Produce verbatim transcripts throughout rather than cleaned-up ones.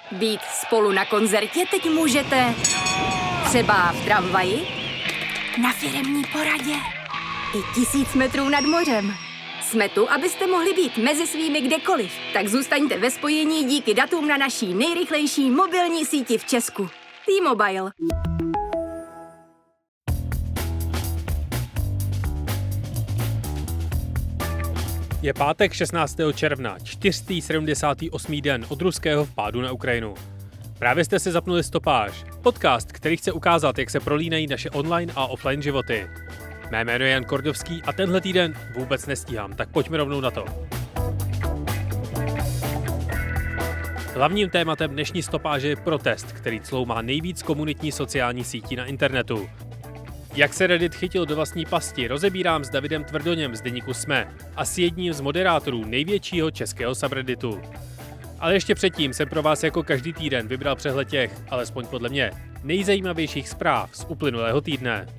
Být spolu na koncertě teď můžete třeba v tramvaji, na firemní poradě i tisíc metrů nad mořem. Jsme tu, abyste mohli být mezi svými kdekoliv. Tak zůstaňte ve spojení díky datům na naší nejrychlejší mobilní síti v Česku. T-Mobile. Je pátek šestnáctého června, čtyřstý sedmdesátý osmý den od ruského vpádu na Ukrajinu. Právě jste si zapnuli Stopáž, podcast, který chce ukázat, jak se prolínají naše online a offline životy. Mé jméno je Jan Kordovský a tenhle týden vůbec nestíhám, tak pojďme rovnou na to. Hlavním tématem dnešní Stopáže je protest, který cloumá nejvíc komunitní sociální sítí na internetu. Jak se Reddit chytil do vlastní pasti, rozebírám s Davidem Tvrdoněm z deníku Sme a s jedním z moderátorů největšího českého subredditu. Ale ještě předtím jsem pro vás jako každý týden vybral přehled těch, alespoň podle mě, nejzajímavějších zpráv z uplynulého týdne.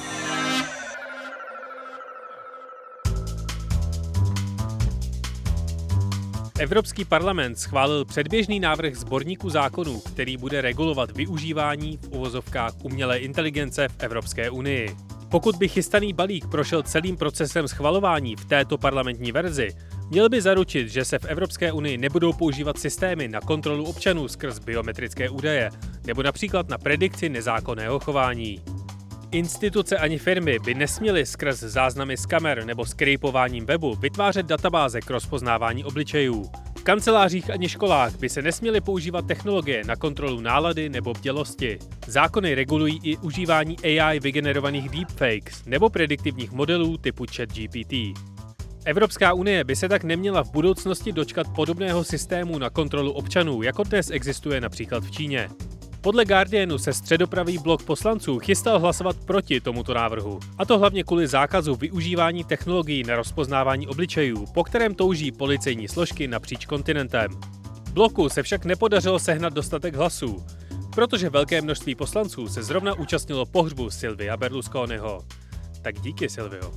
Evropský parlament schválil předběžný návrh sborníku zákonů, který bude regulovat využívání v uvozovkách umělé inteligence v Evropské unii. Pokud by chystaný balík prošel celým procesem schvalování v této parlamentní verzi, měl by zaručit, že se v Evropské unii nebudou používat systémy na kontrolu občanů skrz biometrické údaje, nebo například na predikci nezákonného chování. Instituce ani firmy by nesměly skrz záznamy z kamer nebo skrypováním webu vytvářet databáze k rozpoznávání obličejů. V kancelářích ani školách by se nesměly používat technologie na kontrolu nálady nebo bdělosti. Zákony regulují i užívání A I vygenerovaných deepfakes nebo prediktivních modelů typu ChatGPT. Evropská unie by se tak neměla v budoucnosti dočkat podobného systému na kontrolu občanů, jako dnes existuje například v Číně. Podle Guardianu se středopravý blok poslanců chystal hlasovat proti tomuto návrhu, a to hlavně kvůli zákazu využívání technologií na rozpoznávání obličejů, po kterém touží policejní složky napříč kontinentem. Bloku se však nepodařilo sehnat dostatek hlasů, protože velké množství poslanců se zrovna účastnilo pohřbu Silvia Berlusconiho. Tak díky, Silvio.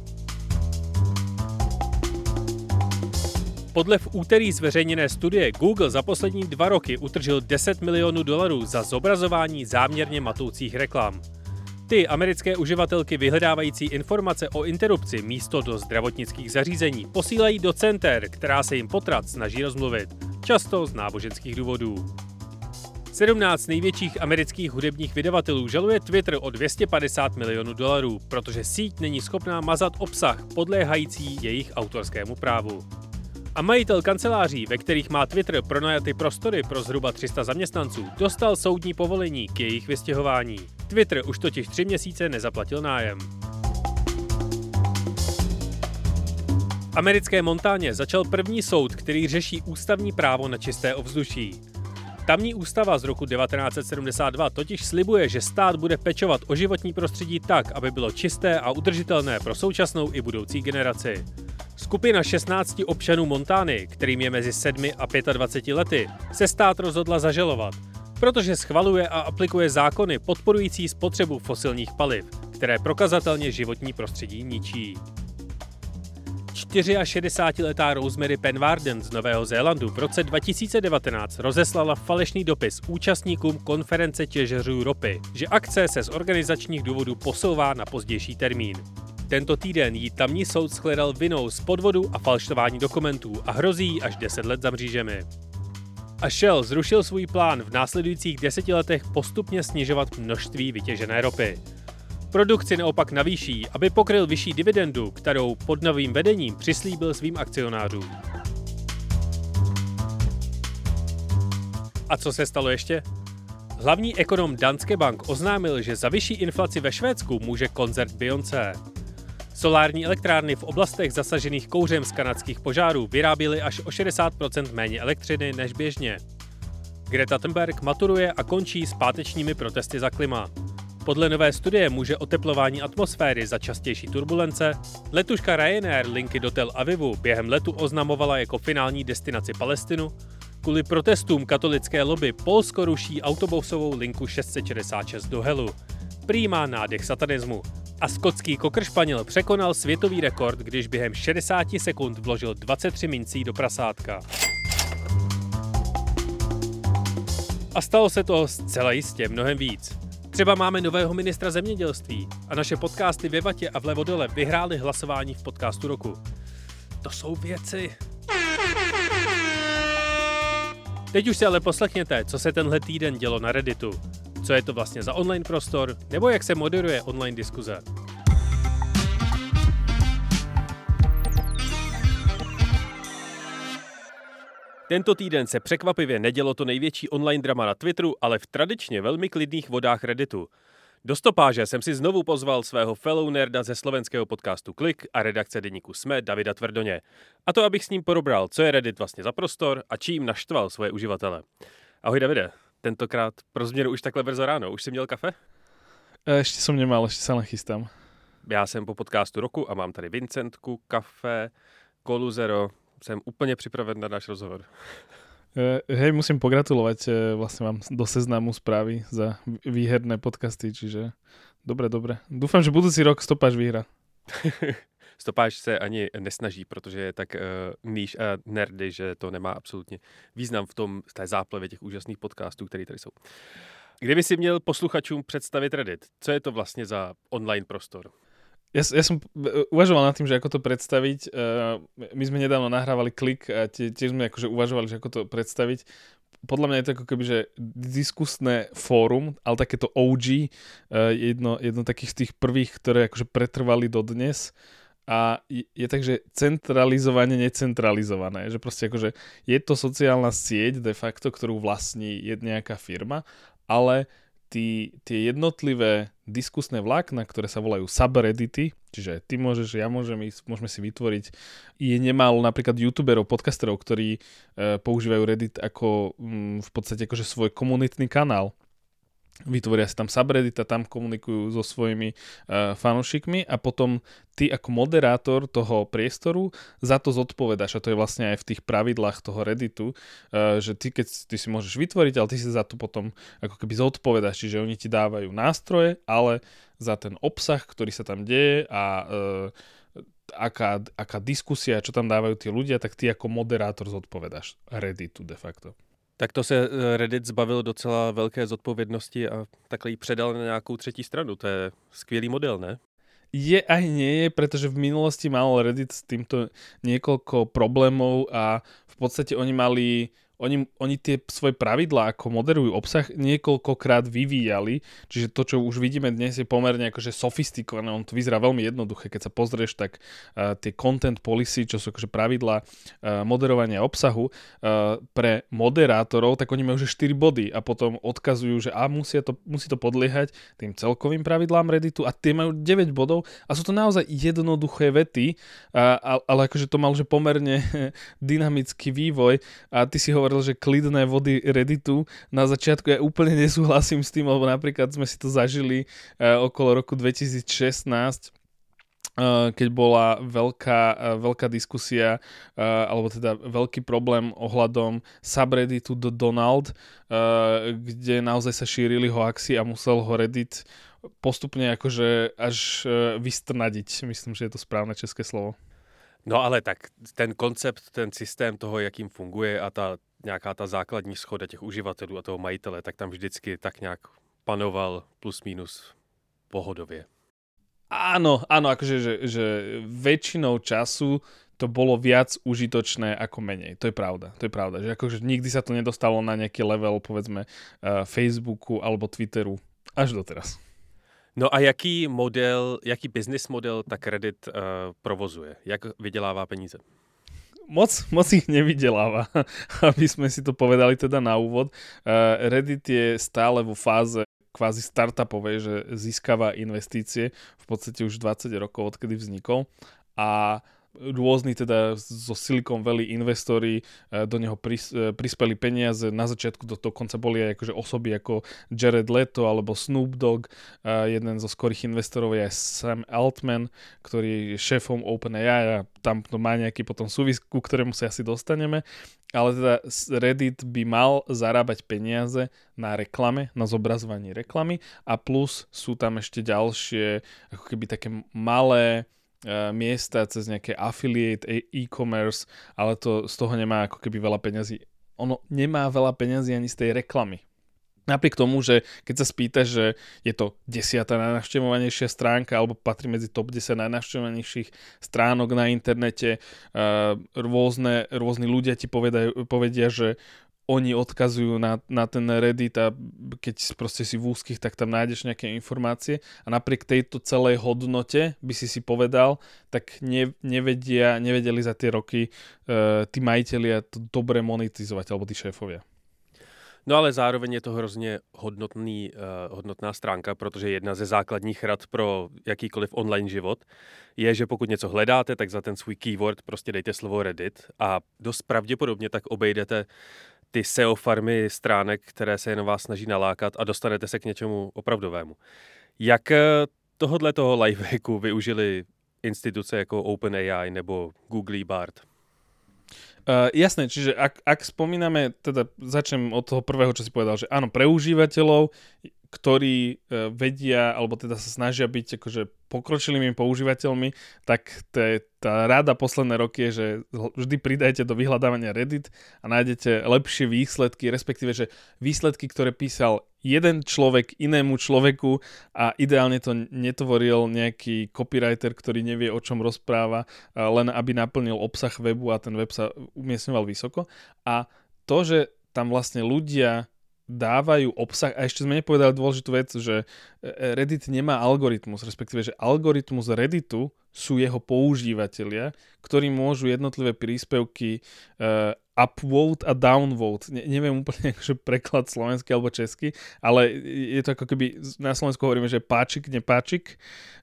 Podle v úterý zveřejněné studie Google za poslední dva roky utržil deset milionů dolarů za zobrazování záměrně matoucích reklam. Ty americké uživatelky vyhledávající informace o interrupci místo do zdravotnických zařízení posílají do center, která se jim potrat snaží rozmluvit, často z náboženských důvodů. sedmnáct největších amerických hudebních vydavatelů žaluje Twitter o dvě stě padesát milionů dolarů, protože síť není schopná mazat obsah podléhající jejich autorskému právu. A majitel kanceláří, ve kterých má Twitter pronajaty prostory pro zhruba tři sta zaměstnanců, dostal soudní povolení k jejich vystěhování. Twitter už totiž tři měsíce nezaplatil nájem. V americké Montáně začal první soud, který řeší ústavní právo na čisté ovzduší. Tamní ústava z roku devatenáct set sedmdesát dva totiž slibuje, že stát bude pečovat o životní prostředí tak, aby bylo čisté a udržitelné pro současnou i budoucí generaci. Skupina šestnácti občanů Montány, kterým je mezi sedmi a dvaceti pěti lety, se stát rozhodla zažalovat, protože schvaluje a aplikuje zákony podporující spotřebu fosilních paliv, které prokazatelně životní prostředí ničí. šedesátičtyřletá Rosemary Penwarden z Nového Zélandu v roce dva tisíce devatenáct rozeslala falešný dopis účastníkům konference těžařů ropy, že akce se z organizačních důvodů posouvá na pozdější termín. Tento týden jí tamní soud shledal vinou z podvodu a falšování dokumentů a hrozí jí až deset let za mřížemi. A Shell zrušil svůj plán v následujících deseti letech postupně snižovat množství vytěžené ropy. Produkci naopak navýší, aby pokryl vyšší dividendu, kterou pod novým vedením přislíbil svým akcionářům. A co se stalo ještě? Hlavní ekonom Danske Bank oznámil, že za vyšší inflaci ve Švédsku může koncert Beyoncé. Solární elektrárny v oblastech zasažených kouřem z kanadských požárů vyráběly až o šedesát procent méně elektřiny než běžně. Greta Thunberg maturuje a končí s pátečními protesty za klima. Podle nové studie může oteplování atmosféry za častější turbulence. Letuška Ryanair linky do Tel Avivu během letu oznamovala jako finální destinaci Palestinu. Kvůli protestům katolické lobby Polsko ruší autobusovou linku šest set šedesát šest do Helu. Prý má nádech satanismu. A skotský kokršpaněl překonal světový rekord, když během šedesáti sekund vložil dvacet tři mincí do prasátka. A stalo se to zcela jistě mnohem víc. Třeba máme nového ministra zemědělství a naše podcasty ve Vatě a vlevo dole vyhrály hlasování v podcastu roku. To jsou věci. Teď už si ale poslechněte, co se tenhle týden dělo na Redditu. Co je to vlastně za online prostor, nebo jak se moderuje online diskuze. Tento týden se překvapivě nedělo to největší online drama na Twitteru, ale v tradičně velmi klidných vodách Redditu. Do stopáže jsem si znovu pozval svého fellow nerda ze slovenského podcastu Klik a redakce deníku SME Davida Tvrdoně. A to, abych s ním porobral, co je Reddit vlastně za prostor a čím naštval svoje uživatele. Ahoj Davide, tentokrát pro změnu už takhle brzo ráno. Už jsi měl kafe? Ešte som nemal, ešte sa len chystám. Já jsem po podcastu roku a mám tady Vincentku, kafe, Kolu Zero. Jsem úplně připraven na náš rozhovor. Hej, musím pogratulovať vlastne vám do Seznamu správy za výherné podcasty, čiže dobre, dobre. Dúfam, že budúci rok Stopáž vyhrá. Stopáž se ani nesnaží, protože je tak uh, níž a nerdy, že to nemá absolutně význam v tom, v té záplavě těch úžasných podcastů, které tady jsou. Kdyby si měl posluchačům představit Reddit, co je to vlastně za online prostor? Ja, ja som uvažoval nad tým, že ako to predstaviť. My sme nedávno nahrávali Klik a tiež sme akože uvažovali, že ako to predstaviť. Podľa mňa je to ako keby, že diskusné fórum, ale takéto ó gé, jedno, jedno takých z tých prvých, ktoré akože pretrvali dodnes. A je, je takže centralizovane necentralizované. Že proste akože je to sociálna sieť de facto, ktorú vlastní nejaká firma, ale Tí, tie jednotlivé diskusné vlákna, ktoré sa volajú subreddity, čiže ty môžeš, ja môžem ísť, môžeme si vytvoriť, je nemálo napríklad youtuberov, podcasterov, ktorí e, používajú Reddit ako m, v podstate akože svoj komunitný kanál. Vytvoria si tam subreddit a tam komunikujú so svojimi uh, fanúšikmi a potom ty ako moderátor toho priestoru za to zodpovedáš a to je vlastne aj v tých pravidlách toho Redditu, uh, že ty keď ty si môžeš vytvoriť, ale ty si za to potom ako keby zodpovedáš, čiže oni ti dávajú nástroje, ale za ten obsah, ktorý sa tam deje a uh, aká, aká diskusia, čo tam dávajú tí ľudia, tak ty ako moderátor zodpovedáš Redditu de facto. Tak to se Reddit zbavil docela velké zodpovědnosti a takhle ji předal na nějakou třetí stranu. To je skvělý model, ne? Je aj nie je, pretože v minulosti mal Reddit s týmto niekoľko problémov a v podstate oni mali Oni, oni tie svoje pravidlá, ako moderujú obsah, niekoľkokrát vyvíjali, čiže to, čo už vidíme dnes, je pomerne akože sofistikované, on to vyzerá veľmi jednoduché, keď sa pozrieš, tak uh, tie content policy, čo sú akože pravidlá uh, moderovania obsahu uh, pre moderátorov, tak oni majú už štyri body a potom odkazujú, že a musia to, musí to podliehať tým celkovým pravidlám Redditu a tie majú deväť bodov a sú to naozaj jednoduché vety, uh, ale akože to mal že pomerne dynamický vývoj a ty si hovoril, že klidné vody Redditu na začiatku ja úplne nesúhlasím s tým, lebo napríklad sme si to zažili uh, okolo roku dvetisícšestnásť, uh, keď bola veľká, uh, veľká diskusia uh, alebo teda veľký problém ohľadom subredditu do Donald, uh, kde naozaj sa šírili hoaxy a musel ho Reddit postupne akože až uh, vystrnadiť. Myslím, že je to správne české slovo. No ale tak ten koncept, ten systém toho, jakým funguje a ta nějaká ta základní schoda těch uživatelů a toho majitele, tak tam vždycky tak nějak panoval plus minus pohodově. Áno, áno, akože že, že väčšinou času to bolo viac užitočné ako menej. To je pravda, to je pravda. Že akože nikdy sa to nedostalo na nejaký level, povedzme, uh, Facebooku alebo Twitteru až doteraz. No a jaký model, jaký business model tak Reddit uh, provozuje? Jak vydělává peníze? Moc, moc ich nevydeláva, aby sme si to povedali teda na úvod. Uh, Reddit je stále vo fáze kvázi startupovej, že získava investície v podstate už dvadsať rokov, odkedy vznikol a rôzni teda zo Silicon Valley investori do neho pris, prispeli peniaze. Na začiatku do dokonca boli aj akože osoby ako Jared Leto alebo Snoop Dogg. Jeden zo skorých investorov je aj Sam Altman, ktorý je šéfom OpenAI a tam to má nejaký potom súvis, ku ktorému sa asi dostaneme. Ale teda Reddit by mal zarábať peniaze na reklame, na zobrazovaní reklamy a plus sú tam ešte ďalšie ako keby také malé miesta cez nejaké affiliate, e-commerce, ale to z toho nemá ako keby veľa peňazí. Ono nemá veľa peňazí ani z tej reklamy. Napriek tomu, že keď sa spýtaš, že je to desiata najnavštevovanejšia stránka alebo patrí medzi top desať najnavštevovanejších stránok na internete, rôzne, rôzni ľudia ti povedajú, povedia, že oni odkazujú na, na ten Reddit a keď proste si v úzkých, tak tam nájdeš nejaké informácie a napriek tejto celej hodnote by si si povedal, tak ne, nevedia, nevedeli za tie roky uh, tí majitelia to dobre monetizovať alebo tí šéfovia. No ale zároveň je to hrozně hodnotný, uh, hodnotná stránka, protože jedna ze základních rad pro jakýkoliv online život je, že pokud něco hledáte, tak za ten svůj keyword prostě dejte slovo Reddit a dost pravděpodobně tak obejdete ty S E O farmy stránek, které se jen vás snaží nalákat a dostanete se k něčemu opravdovému. Jak tohodle toho lifehacku využili instituce jako OpenAI nebo Google Bard? Uh, jasné, čiže ak, ak spomíname, teda začnem od toho prvého, čo si povedal, že áno, pre užívateľov, ktorí uh, vedia, alebo teda sa snažia byť akože pokročilými používateľmi, tak te, tá rada posledné roky je, že vždy pridajte do vyhľadávania Reddit a nájdete lepšie výsledky, respektíve, že výsledky, ktoré písal jeden človek inému človeku a ideálne to netvoril nejaký copywriter, ktorý nevie, o čom rozpráva, len aby naplnil obsah webu a ten web sa umiestňoval vysoko. A to, že tam vlastne ľudia dávajú obsah, a ešte sme nepovedali dôležitú vec, že Reddit nemá algoritmus, respektíve, že algoritmus Redditu sú jeho používatelia, ktorí môžu jednotlivé príspevky uh, upvote a downvote. Ne, neviem úplne akože preklad slovenský alebo český, ale je to ako keby, na Slovensku hovoríme, že páčik, nepáčik.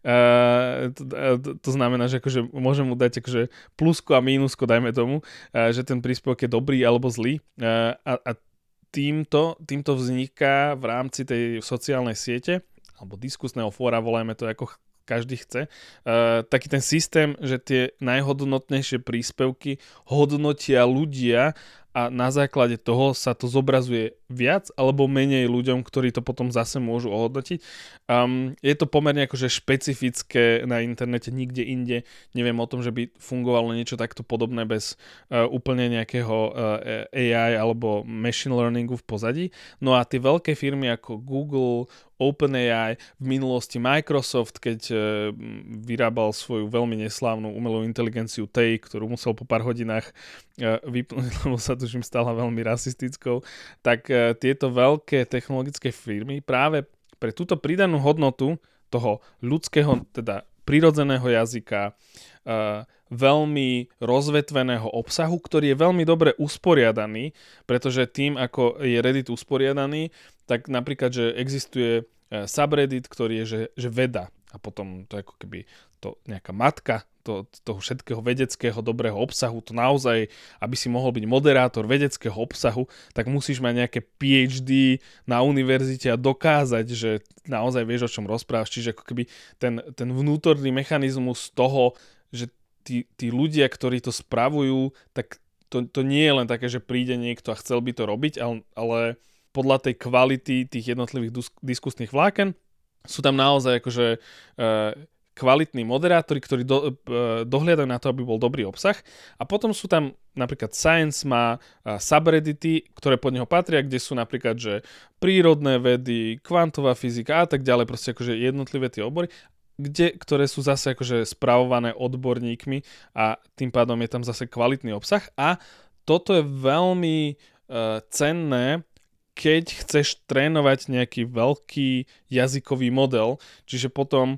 Uh, to, to, to znamená, že akože môžem mu dať akože plusko a mínusko, dajme tomu, uh, že ten príspevok je dobrý alebo zlý. Uh, a, a týmto, týmto vzniká v rámci tej sociálnej siete alebo diskusného fóra, volajme to ako každý chce, uh, taký ten systém, že tie najhodnotnejšie príspevky hodnotia ľudia a na základe toho sa to zobrazuje viac alebo menej ľuďom, ktorí to potom zase môžu ohodnotiť. Um, je to pomerne akože špecifické na internete, nikde inde. Neviem o tom, že by fungovalo niečo takto podobné bez uh, úplne nejakého uh, A I alebo machine learningu v pozadí. No a tie veľké firmy ako Google, OpenAI, v minulosti Microsoft, keď uh, vyrábal svoju veľmi neslávnu umelú inteligenciu Tay, ktorú musel po pár hodinách uh, vypnúť, lebo sa tužím stala veľmi rasistickou, tak uh, tieto veľké technologické firmy práve pre túto pridanú hodnotu toho ľudského, teda prirodzeného jazyka, uh, veľmi rozvetveného obsahu, ktorý je veľmi dobre usporiadaný, pretože tým, ako je Reddit usporiadaný, tak napríklad, že existuje uh, subreddit, ktorý je, že, že veda a potom to je ako keby to nejaká matka to, toho všetkého vedeckého dobrého obsahu, to naozaj, aby si mohol byť moderátor vedeckého obsahu, tak musíš mať nejaké P H D na univerzite a dokázať, že naozaj vieš, o čom rozprávaš. Čiže ako keby ten, ten vnútorný mechanizmus toho, že tí, tí ľudia, ktorí to spravujú, tak to, to nie je len také, že príde niekto a chcel by to robiť, ale, ale podľa tej kvality tých jednotlivých dus, diskusných vláken sú tam naozaj akože uh, kvalitní moderátori, ktorí do, uh, dohliadajú na to, aby bol dobrý obsah. A potom sú tam napríklad Science má uh, subreddity, ktoré pod neho patria, kde sú napríklad, že prírodné vedy, kvantová fyzika a tak ďalej, proste akože jednotlivé tie obory, kde, ktoré sú zase akože spravované odborníkmi a tým pádom je tam zase kvalitný obsah. A toto je veľmi uh, cenné, keď chceš trénovať nejaký veľký jazykový model, čiže potom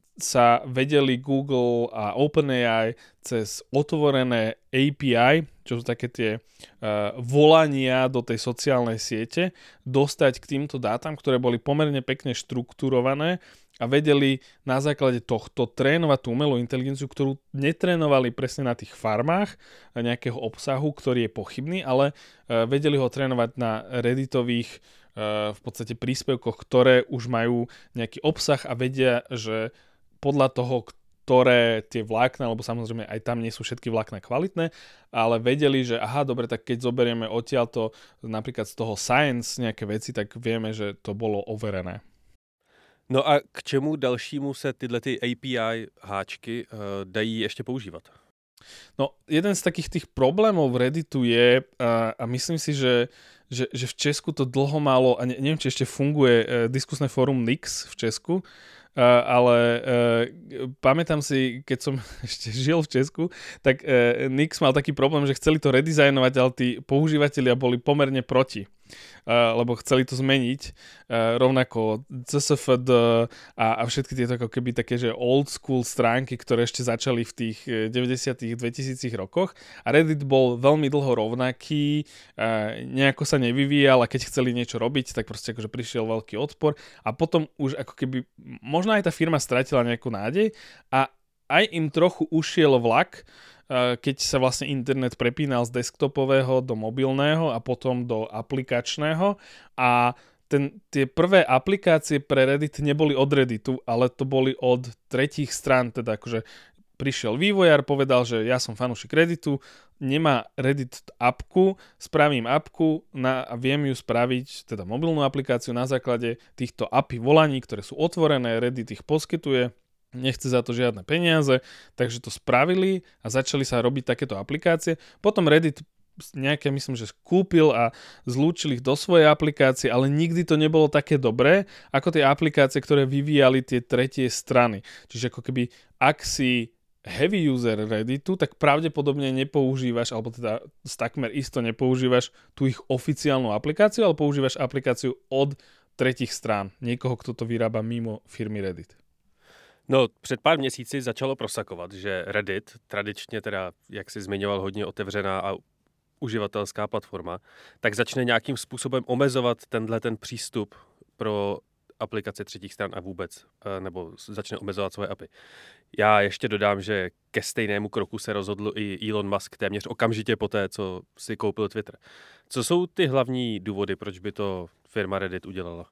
sa vedeli Google a OpenAI cez otvorené A P I, čo sú také tie uh, volania do tej sociálnej siete, dostať k týmto dátam, ktoré boli pomerne pekne štrukturované a vedeli na základe tohto trénovať tú umelú inteligenciu, ktorú netrénovali presne na tých farmách nejakého obsahu, ktorý je pochybný, ale uh, vedeli ho trénovať na redditových uh, v podstate príspevkoch, ktoré už majú nejaký obsah a vedia, že podľa toho, ktoré tie vlákna, lebo samozrejme aj tam nie sú všetky vlákna kvalitné, ale vedeli, že aha, dobre, tak keď zoberieme odtiaľto napríklad z toho Science nejaké veci, tak vieme, že to bolo overené. No a k čemu dalšímu se tyhle ty A P I háčky uh, dají ještě používat? No, jeden z takých tých problémov v Redditu je, a, a myslím si, že, že, že v Česku to dlho malo, a ne, neviem, či ešte funguje uh, diskusné fórum Nix v Česku, Uh, ale uh, pamätám si, keď som ešte žil v Česku, tak uh, Nix mal taký problém, že chceli to redizajnovať, ale tí používatelia boli pomerne proti. Uh, lebo chceli to zmeniť. Uh, rovnako C S F D a, a všetky tieto ako keby také, že old school stránky, ktoré ešte začali v tých deväťdesiatych, dvetisícich rokoch. A Reddit bol veľmi dlho rovnaký, uh, nejako sa nevyvíjal a keď chceli niečo robiť, tak proste akože prišiel veľký odpor a potom už ako keby možno aj tá firma stratila nejakú nádej a aj im trochu ušiel vlak, keď sa vlastne internet prepínal z desktopového do mobilného a potom do aplikačného a ten, tie prvé aplikácie pre Reddit neboli od Redditu, ale to boli od tretích strán, teda akože prišiel vývojár, povedal, že ja som fanúšik Redditu, nemá Reddit apku, spravím apku na, a viem ju spraviť, teda mobilnú aplikáciu na základe týchto á pé í volaní, ktoré sú otvorené, Reddit ich poskytuje, nechce za to žiadne peniaze, takže to spravili a začali sa robiť takéto aplikácie. Potom Reddit nejaké, myslím, že kúpil a zlúčil ich do svojej aplikácie, ale nikdy to nebolo také dobré, ako tie aplikácie, ktoré vyvíjali tie tretie strany. Čiže ako keby, ak si heavy user Redditu, tak pravdepodobne nepoužívaš, alebo teda takmer isto nepoužívaš tú ich oficiálnu aplikáciu, ale používaš aplikáciu od tretích strán. Niekoho, kto to vyrába mimo firmy Reddit. No, před pár měsíci začalo prosakovat, že Reddit, tradičně teda, jak jsi zmiňoval, hodně otevřená a uživatelská platforma, tak začne nějakým způsobem omezovat tenhle ten přístup pro aplikace třetích stran a vůbec, nebo začne omezovat svoje apy. Já ještě dodám, že ke stejnému kroku se rozhodl i Elon Musk téměř okamžitě poté, co si koupil Twitter. Co jsou ty hlavní důvody, proč by to firma Reddit udělala?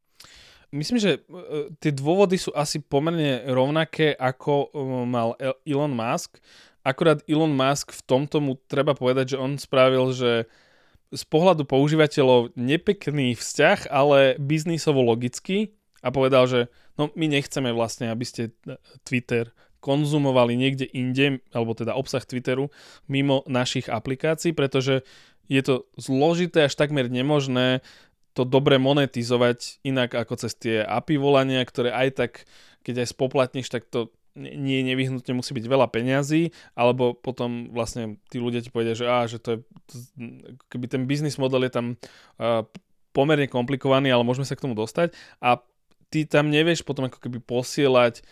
Myslím, že tie dôvody sú asi pomerne rovnaké, ako mal Elon Musk. Akurát Elon Musk v tomto mu treba povedať, že on spravil, že z pohľadu používateľov nepekný vzťah, ale biznisovo logický a povedal, že no my nechceme vlastne, aby ste Twitter konzumovali niekde inde, alebo teda obsah Twitteru mimo našich aplikácií, pretože je to zložité až takmer nemožné to dobre monetizovať inak ako cez tie á pé í volania, ktoré aj tak, keď aj spoplatníš, tak to nie nevyhnutne musí byť veľa peňazí, alebo potom vlastne tí ľudia ti povedia, že, á, že to je, to, keby ten business model je tam uh, pomerne komplikovaný, ale môžeme sa k tomu dostať a ty tam nevieš potom ako keby posielať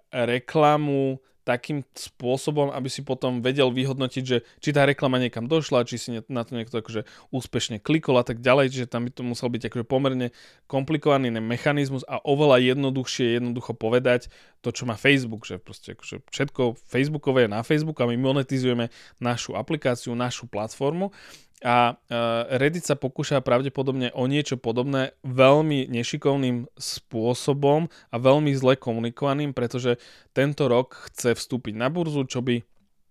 reklamu takým spôsobom, aby si potom vedel vyhodnotiť, že či tá reklama niekam došla, či si na to niekto akože úspešne klikol a tak ďalej, čiže tam by to musel byť akože pomerne komplikovaný mechanizmus a oveľa jednoduchšie jednoducho povedať to, čo má Facebook, že proste akože všetko Facebookové je na Facebooku a my monetizujeme našu aplikáciu, našu platformu. A Reddit sa pokúša pravdepodobne o niečo podobné veľmi nešikovným spôsobom a veľmi zle komunikovaným, pretože tento rok chce vstúpiť na burzu, čo by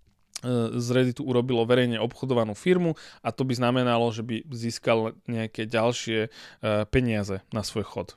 z Redditu urobilo verejne obchodovanú firmu a to by znamenalo, že by získal nejaké ďalšie peniaze na svoj chod.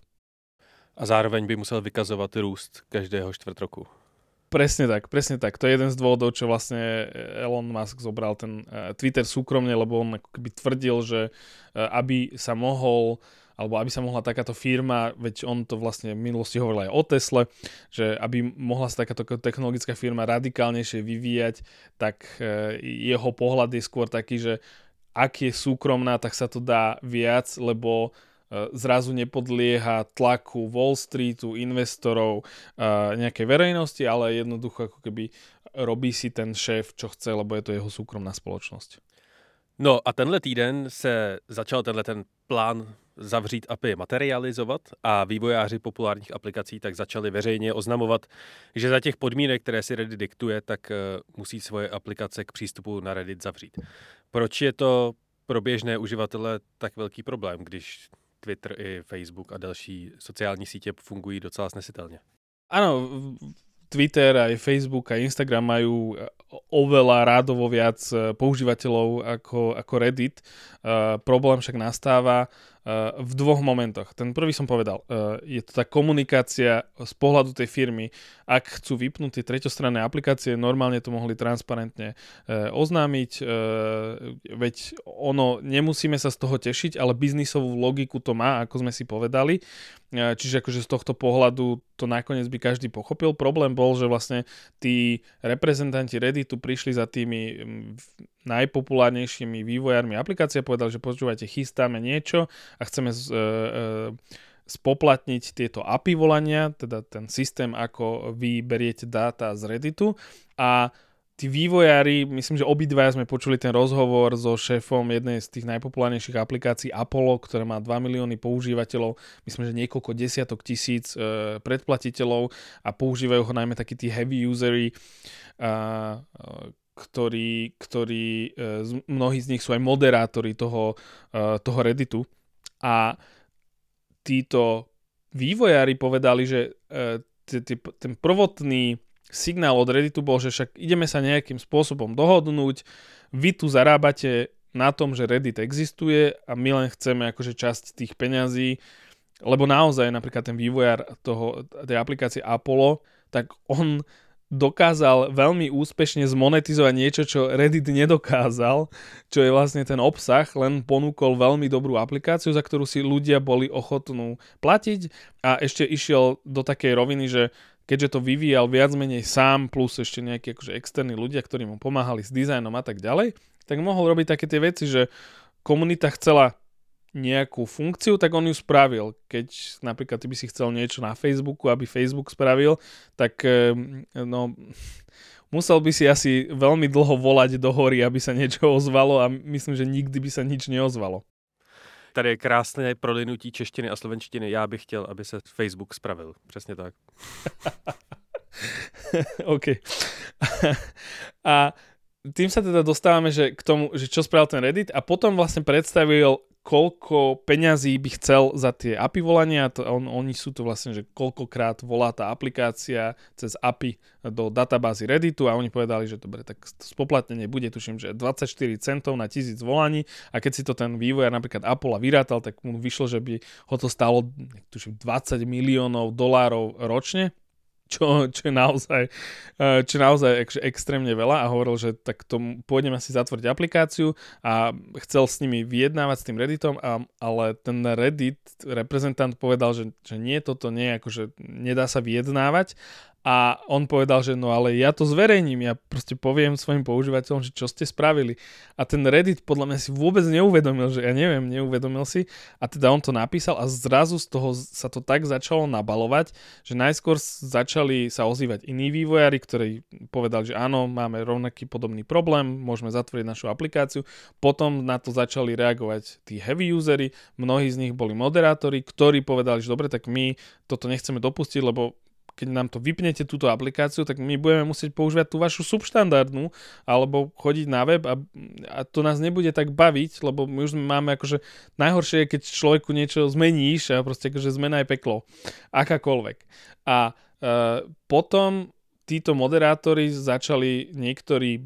A zároveň by musel vykazovať růst každého čtvrt roku. Presne tak, presne tak. To je jeden z dôvodov, čo vlastne Elon Musk zobral ten Twitter súkromne, lebo on ako keby tvrdil, že aby sa mohol, alebo aby sa mohla takáto firma, veď on to vlastne v minulosti hovoril aj o Tesle, že aby mohla sa takáto technologická firma radikálnejšie vyvíjať, tak jeho pohľad je skôr taký, že ak je súkromná, tak sa to dá viac, lebo zrazu nepodlieha tlaku Wall Streetu, investorov, nejakej verejnosti, ale jednoducho ako keby robí si ten šéf, čo chce, lebo je to jeho súkromná spoločnosť. No a tenhle týden se začal tenhle ten plán zavřít A P I materializovat a vývojáři populárních aplikací tak začali veřejně oznamovat, že za těch podmínek, které si Reddit diktuje, tak musí svoje aplikace k přístupu na Reddit zavřít. Proč je to pro běžné uživatele tak velký problém, když Twitter i Facebook a další sociální sítě fungují docela snesitelně? Áno, Twitter, aj Facebook a Instagram majú oveľa rádovo viac používateľov ako, ako Reddit. Uh, problém však nastáva v dvoch momentoch. Ten prvý som povedal, je to tá komunikácia z pohľadu tej firmy. Ak chcú vypnúť tie treťostranné aplikácie, normálne to mohli transparentne oznámiť, veď ono, nemusíme sa z toho tešiť, ale biznisovú logiku to má, ako sme si povedali. Čiže akože z tohto pohľadu to nakoniec by každý pochopil. Problém bol, že vlastne tí reprezentanti Redditu prišli za tými najpopulárnejšími vývojármi aplikácie a povedali, že počúvajte, chystáme niečo a chceme z, e, e, spoplatniť tieto á pé í volania, teda ten systém, ako vy beriete dáta z Redditu, a tí vývojári, myslím, že obidvaja sme počuli ten rozhovor so šéfom jednej z tých najpopulárnejších aplikácií Apollo, ktorá má dva milióny používateľov, myslím, že niekoľko desiatok tisíc e, predplatiteľov a používajú ho najmä takí tí heavy usery, a, e, ktorí, ktorí e, mnohí z nich sú aj moderátori toho, e, toho Redditu. A títo vývojári povedali, že e, t- t- ten prvotný signál od Redditu bol, že však ideme sa nejakým spôsobom dohodnúť, vy tu zarábate na tom, že Reddit existuje a my len chceme akože časť tých peňazí, lebo naozaj napríklad ten vývojár toho, tej aplikácie Apollo, tak on dokázal veľmi úspešne zmonetizovať niečo, čo Reddit nedokázal, čo je vlastne ten obsah, len ponúkol veľmi dobrú aplikáciu, za ktorú si ľudia boli ochotní platiť, a ešte išiel do takej roviny, že keďže to vyvíjal viac menej sám, plus ešte nejakí akože externí ľudia, ktorí mu pomáhali s dizajnom a tak ďalej, tak mohol robiť také tie veci, že komunita chcela nejakú funkciu, tak on ju spravil. Keď napríklad ty by si chcel niečo na Facebooku, aby Facebook spravil, tak no, musel by si asi veľmi dlho volať do hory, aby sa niečo ozvalo, a myslím, že nikdy by sa nič neozvalo. Tady je krásné prolinutí češtiny a slovenštiny. Já bych chtěl, aby se Facebook spravil. Přesně tak. OK. A tým sa teda dostávame, že k tomu, že čo spravil ten Reddit, a potom vlastne predstavil, koľko peňazí by chcel za tie á pé í volania. To, on, oni sú to vlastne, že koľkokrát volá tá aplikácia cez á pé í do databázy Redditu, a oni povedali, že dobre, tak spoplatnenie bude, tuším, že dvadsaťštyri centov na tisíc volaní, a keď si to ten vývojár napríklad Apollo vyrátal, tak mu vyšlo, že by ho to stálo, tuším, dvadsať miliónov dolárov ročne. Čo, čo je naozaj, čo je naozaj ek, extrémne veľa, a hovoril, že tak to pôjdem asi zatvoriť aplikáciu, a chcel s nimi vyjednávať s tým Redditom, a, ale ten Reddit reprezentant povedal, že, že nie, toto nie, akože nedá sa vyjednávať, a on povedal, že no ale ja to zverejním, ja proste poviem svojim používateľom, že čo ste spravili. A ten Reddit podľa mňa si vôbec neuvedomil, že ja neviem, neuvedomil si, a teda on to napísal, a zrazu z toho sa to tak začalo nabalovať, že najskôr začali sa ozývať iní vývojári, ktorí povedali, že áno, máme rovnaký podobný problém, môžeme zatvoriť našu aplikáciu. Potom na to začali reagovať tí heavy usery, mnohí z nich boli moderátori, ktorí povedali, že dobre, tak my toto nechceme dopustiť, lebo keď nám to vypnete, túto aplikáciu, tak my budeme musieť používať tú vašu subštandardnú, alebo chodiť na web, a, a to nás nebude tak baviť, lebo my už máme akože najhoršie je, keď človeku niečo zmeníš, a proste akože zmena je peklo. Akákoľvek. A e, potom títo moderátori začali niektorí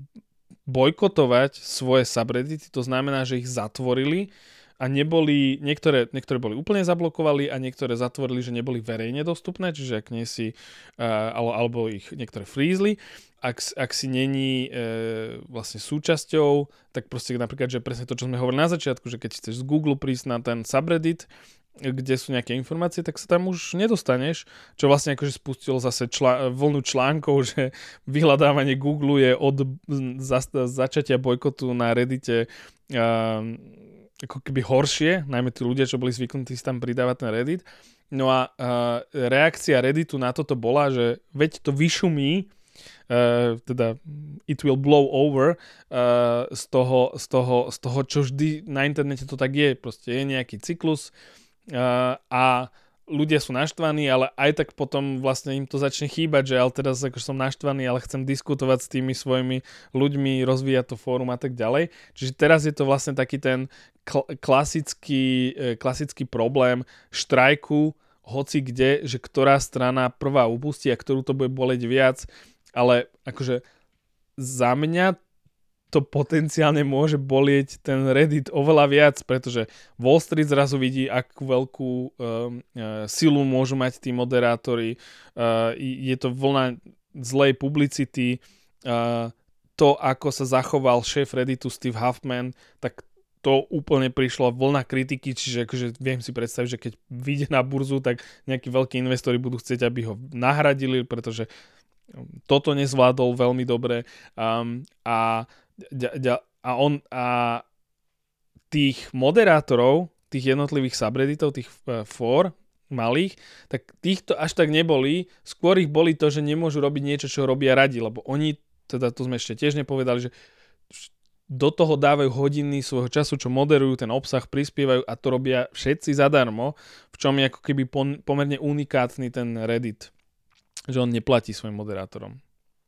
bojkotovať svoje subreddity, to znamená, že ich zatvorili, a neboli, niektoré, niektoré boli úplne zablokovali a niektoré zatvorili, že neboli verejne dostupné, čiže ak nie si, uh, alebo ich niektoré frízli. Ak, ak si není uh, vlastne súčasťou, tak proste napríklad, že presne to, čo sme hovorili na začiatku, že keď chceš z Google prísť na ten subreddit, kde sú nejaké informácie, tak sa tam už nedostaneš, čo vlastne akože spustilo zase čla- vlnu článkov, že vyhľadávanie Google je od za- začatia bojkotu na Reddite uh, ako keby horšie, najmä tí ľudia, čo boli zvyknutí si tam pridávať ten Reddit. No a uh, reakcia Redditu na toto bola, že veď to vyšumí, uh, teda it will blow over uh, z, toho, z, toho, z toho, čo vždy na internete to tak je. Proste je nejaký cyklus uh, a ľudia sú naštvaní, ale aj tak potom vlastne im to začne chýbať, že ale teraz akože som naštvaný, ale chcem diskutovať s tými svojimi ľuďmi, rozvíjať to fórum a tak ďalej. Čiže teraz je to vlastne taký ten kl- klasický, klasický problém štrajku, hoci kde, že ktorá strana prvá upustí a ktorú to bude boleť viac, ale akože za mňa to potenciálne môže bolieť ten Reddit oveľa viac, pretože Wall Street zrazu vidí, akú veľkú um, uh, silu môžu mať tí moderátori. Uh, je to vlna zlej publicity. Uh, to, ako sa zachoval šéf Redditu Steve Huffman, tak to úplne prišlo vlna kritiky, čiže akože viem si predstaviť, že keď vyjde na burzu, tak nejakí veľkí investori budú chcieť, aby ho nahradili, pretože toto nezvládol veľmi dobre. Um, a A on a tých moderátorov, tých jednotlivých subredditov, tých fór malých, tak týchto až tak neboli. Skôr ich boli to, že nemôžu robiť niečo, čo robia radi, lebo oni, teda to sme ešte tiež nepovedali, že do toho dávajú hodiny svojho času, čo moderujú ten obsah, prispievajú a to robia všetci zadarmo, v čom je ako keby pomerne unikátny ten Reddit, že on neplatí svojim moderátorom.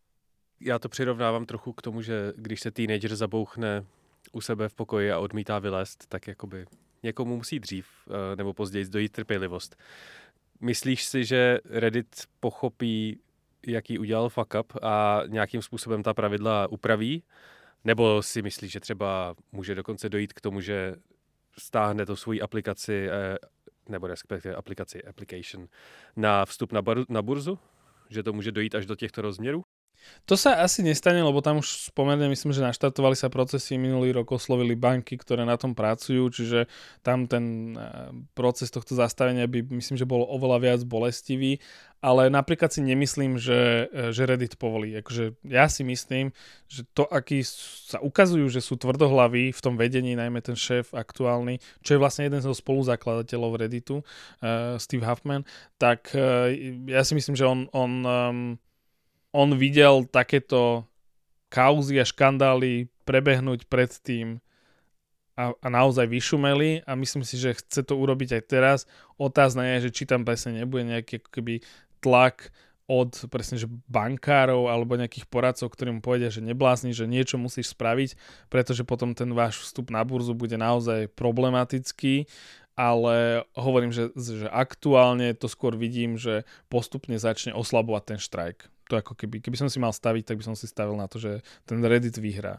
Já to přirovnávám trochu k tomu, že když se teenager zabouchne u sebe v pokoji a odmítá vylézt, tak jakoby někomu musí dřív nebo později dojít trpělivost. Myslíš si, že Reddit pochopí, jaký udělal fuck up a nějakým způsobem ta pravidla upraví? Nebo si myslíš, že třeba může dokonce dojít k tomu, že stáhne to svoji aplikaci, nebo respektive aplikaci, application, na vstup na, bar, na burzu? Že to může dojít až do těchto rozměrů? To sa asi nestane, lebo tam už pomerne myslím, že naštartovali sa procesy, minulý rok oslovili banky, ktoré na tom pracujú, čiže tam ten proces tohto zastavenia by myslím, že bol oveľa viac bolestivý, ale napríklad si nemyslím, že, že Reddit povolí. Akože ja si myslím, že to, akí sa ukazujú, že sú tvrdohlaví v tom vedení, najmä ten šéf aktuálny, čo je vlastne jeden zo spoluzakladateľov Redditu, uh, Steve Huffman, tak uh, ja si myslím, že on, on um, on videl takéto kauzy a škandály prebehnúť predtým a, a naozaj vyšumeli a myslím si, že chce to urobiť aj teraz. Otázne je, že či tam presne nebude nejaký ako keby tlak od presne, že bankárov alebo nejakých poradcov, ktorým povedia, že neblázni, že niečo musíš spraviť, pretože potom ten váš vstup na burzu bude naozaj problematický. Ale hovorím, že, že aktuálne to skôr vidím, že postupne začne oslabovať ten štrajk. To ako keby, keby som si mal staviť, tak by som si stavil na to, že ten Reddit vyhrá.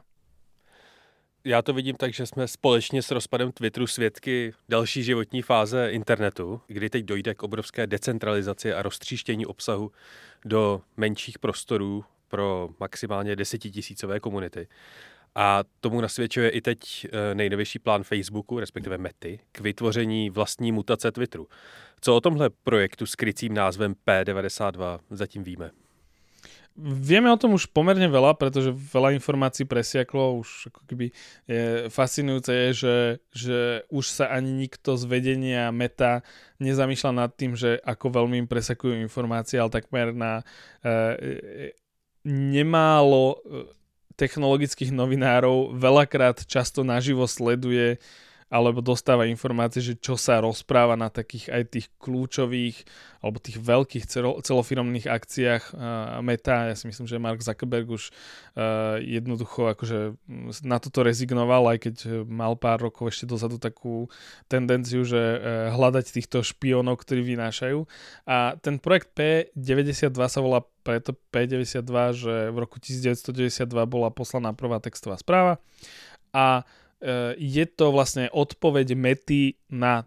Já to vidím tak, že jsme společně s rozpadem Twitteru svědky další životní fáze internetu, kdy teď dojde k obrovské decentralizaci a roztříštění obsahu do menších prostorů pro maximálně desetitisícové komunity. A tomu nasvědčuje i teď nejnovější plán Facebooku, respektive Mety, k vytvoření vlastní mutace Twitteru. Co o tomhle projektu s krycím názvem P devadesát dva zatím víme? Vieme o tom už pomerne veľa, pretože veľa informácií presiaklo, už ako keby je fascinujúce je, že, že už sa ani nikto z vedenia Meta nezamýšľa nad tým, že ako veľmi im presakujú informácie, ale takmer na e, nemálo technologických novinárov veľakrát často naživo sleduje alebo dostáva informácie, že čo sa rozpráva na takých aj tých kľúčových alebo tých veľkých celofiremných akciách uh, Meta. Ja si myslím, že Mark Zuckerberg už uh, jednoducho akože na toto rezignoval, aj keď mal pár rokov ešte dozadu takú tendenciu, že uh, hľadať týchto špiónov, ktorí vynášajú. A ten projekt P deväťdesiatdva sa volá preto P deväťdesiatdva, že v roku devätnásťstodeväťdesiatdva bola poslaná prvá textová správa a je to vlastne odpoveď Mety na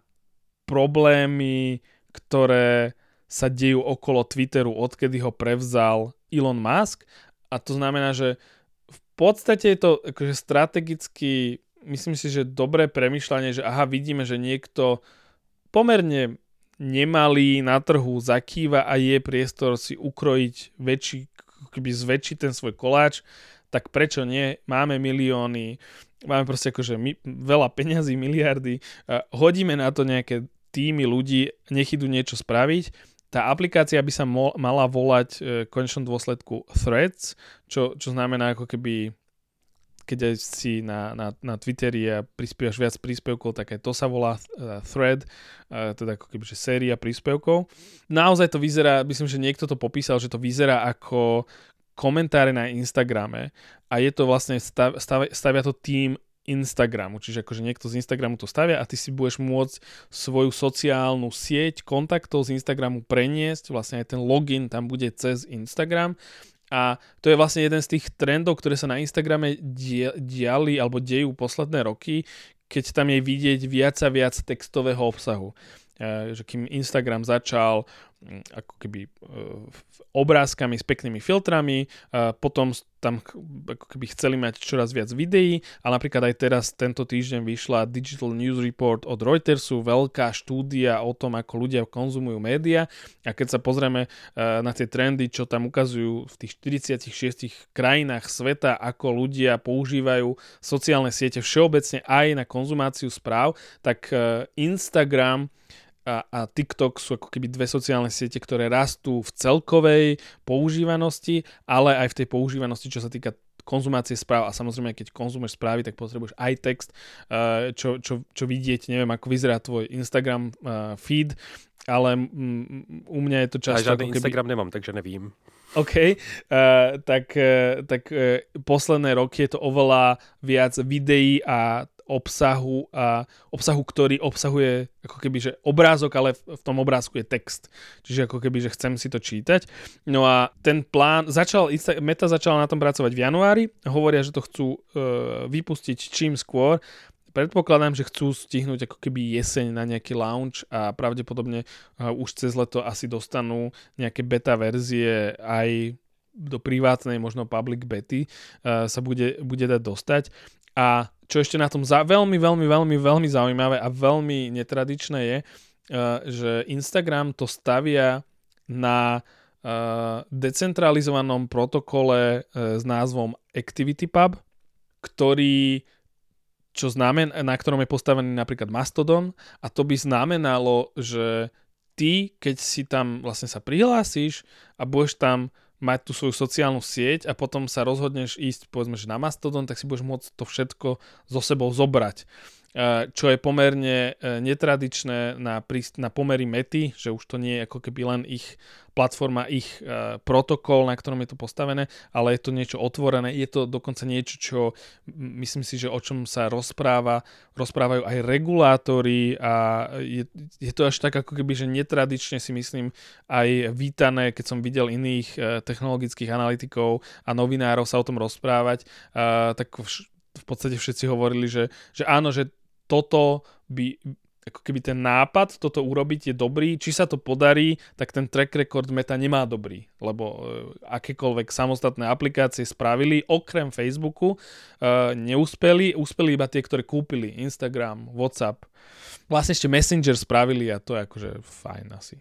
problémy, ktoré sa dejú okolo Twitteru, odkedy ho prevzal Elon Musk. A to znamená, že v podstate je to akože strategicky, myslím si, že dobré premýšľanie, že aha, vidíme, že niekto pomerne nemalý na trhu zakýva a je priestor si ukrojiť väčší, keby zväčšiť ten svoj koláč, tak prečo nie? Máme milióny, máme proste akože my, veľa peňazí, miliardy, uh, hodíme na to nejaké týmy ľudí, nech idú niečo spraviť. Tá aplikácia by sa mo- mala volať uh, v konečnom dôsledku Threads, čo, čo znamená ako keby, keď aj si na, na, na Twitteri a prispievaš viac príspevkov, tak aj to sa volá uh, Thread, uh, teda ako keby, že séria príspevkov. Naozaj to vyzerá, myslím, že niekto to popísal, že to vyzerá ako komentáre na Instagrame a je to vlastne, stav, stav, stavia to tým Instagramu, čiže akože niekto z Instagramu to stavia a ty si budeš môcť svoju sociálnu sieť kontaktov z Instagramu preniesť, vlastne aj ten login tam bude cez Instagram A to je vlastne jeden z tých trendov, ktoré sa na Instagrame diali alebo dejú posledné roky, keď tam je vidieť viac a viac textového obsahu. Že kým Instagram začal ako keby obrázkami s peknými filtrami, potom tam ako keby chceli mať čoraz viac videí a napríklad aj teraz tento týždeň vyšla Digital News Report od Reutersu, veľká štúdia o tom, ako ľudia konzumujú média a keď sa pozrieme na tie trendy, čo tam ukazujú v tých štyridsiatich šiestich krajinách sveta, ako ľudia používajú sociálne siete všeobecne aj na konzumáciu správ, tak Instagram A, a TikTok sú ako keby dve sociálne siete, ktoré rastú v celkovej používanosti, ale aj v tej používanosti, čo sa týka konzumácie správ. A samozrejme, keď konzumuješ správy, tak potrebuješ aj text, čo, čo, čo vidieť. Neviem, ako vyzerá tvoj Instagram feed, ale u mňa je to často... A žiadny keby... Instagram nemám, takže nevím. OK, uh, tak, uh, tak uh, posledné roky je to oveľa viac videí a obsahu a obsahu, ktorý obsahuje ako keby, že obrázok, ale v, v tom obrázku je text. Čiže ako keby, že chcem si to čítať. No a ten plán, začal, Meta začala na tom pracovať v januári, hovoria, že to chcú uh, vypustiť čím skôr. Predpokladám, že chcú stihnúť ako keby jeseň na nejaký launch a pravdepodobne uh, už cez leto asi dostanú nejaké beta verzie aj do privátnej, možno public bety uh, sa bude, bude dať dostať. A čo ešte na tom za, veľmi, veľmi, veľmi, veľmi zaujímavé a veľmi netradičné je, uh, že Instagram to stavia na uh, decentralizovanom protokole uh, s názvom ActivityPub, ktorý čo znamená, na ktorom je postavený napríklad Mastodon a to by znamenalo, že ty, keď si tam vlastne sa prihlásiš a budeš tam mať tú svoju sociálnu sieť a potom sa rozhodneš ísť povedzme, že na Mastodon, tak si budeš môcť to všetko so sebou zobrať. Čo je pomerne netradičné na, príst- na pomery Mety, že už to nie je ako keby len ich platforma, ich uh, protokol, na ktorom je to postavené, ale je to niečo otvorené. Je to dokonca niečo, čo myslím si, že o čom sa rozpráva, rozprávajú aj regulátori a je, je to až tak ako keby, že netradične si myslím aj vítané, keď som videl iných uh, technologických analytikov a novinárov sa o tom rozprávať, uh, tak vš- v podstate všetci hovorili, že, že áno, že toto by, ako keby ten nápad toto urobiť je dobrý, či sa to podarí, tak ten track record Meta nemá dobrý, lebo akékoľvek samostatné aplikácie spravili, okrem Facebooku, uh, neúspeli, úspeli iba tie, ktoré kúpili, Instagram, WhatsApp, vlastne ešte Messenger spravili a to je akože fajn asi.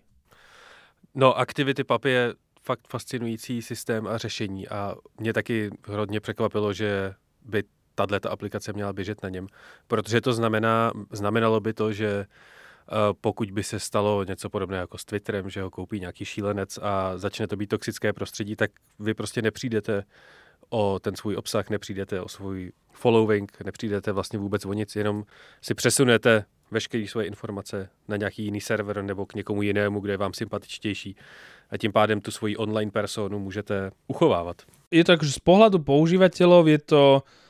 No, ActivityPub je fakt fascinující systém a řešení a mě taky hodně překvapilo, že by tato aplikace měla běžet na něm, protože to znamená, znamenalo by to, že pokud by se stalo něco podobného jako s Twitterem, že ho koupí nějaký šílenec a začne to být toxické prostředí, tak vy prostě nepřijdete o ten svůj obsah, nepřijdete o svůj following, nepřijdete vlastně vůbec o nic, jenom si přesunete veškeré svoje informace na nějaký jiný server nebo k někomu jinému, kde je vám sympatičtější a tím pádem tu svoji online personu můžete uchovávat. Je to akože z pohľadu používateľov je to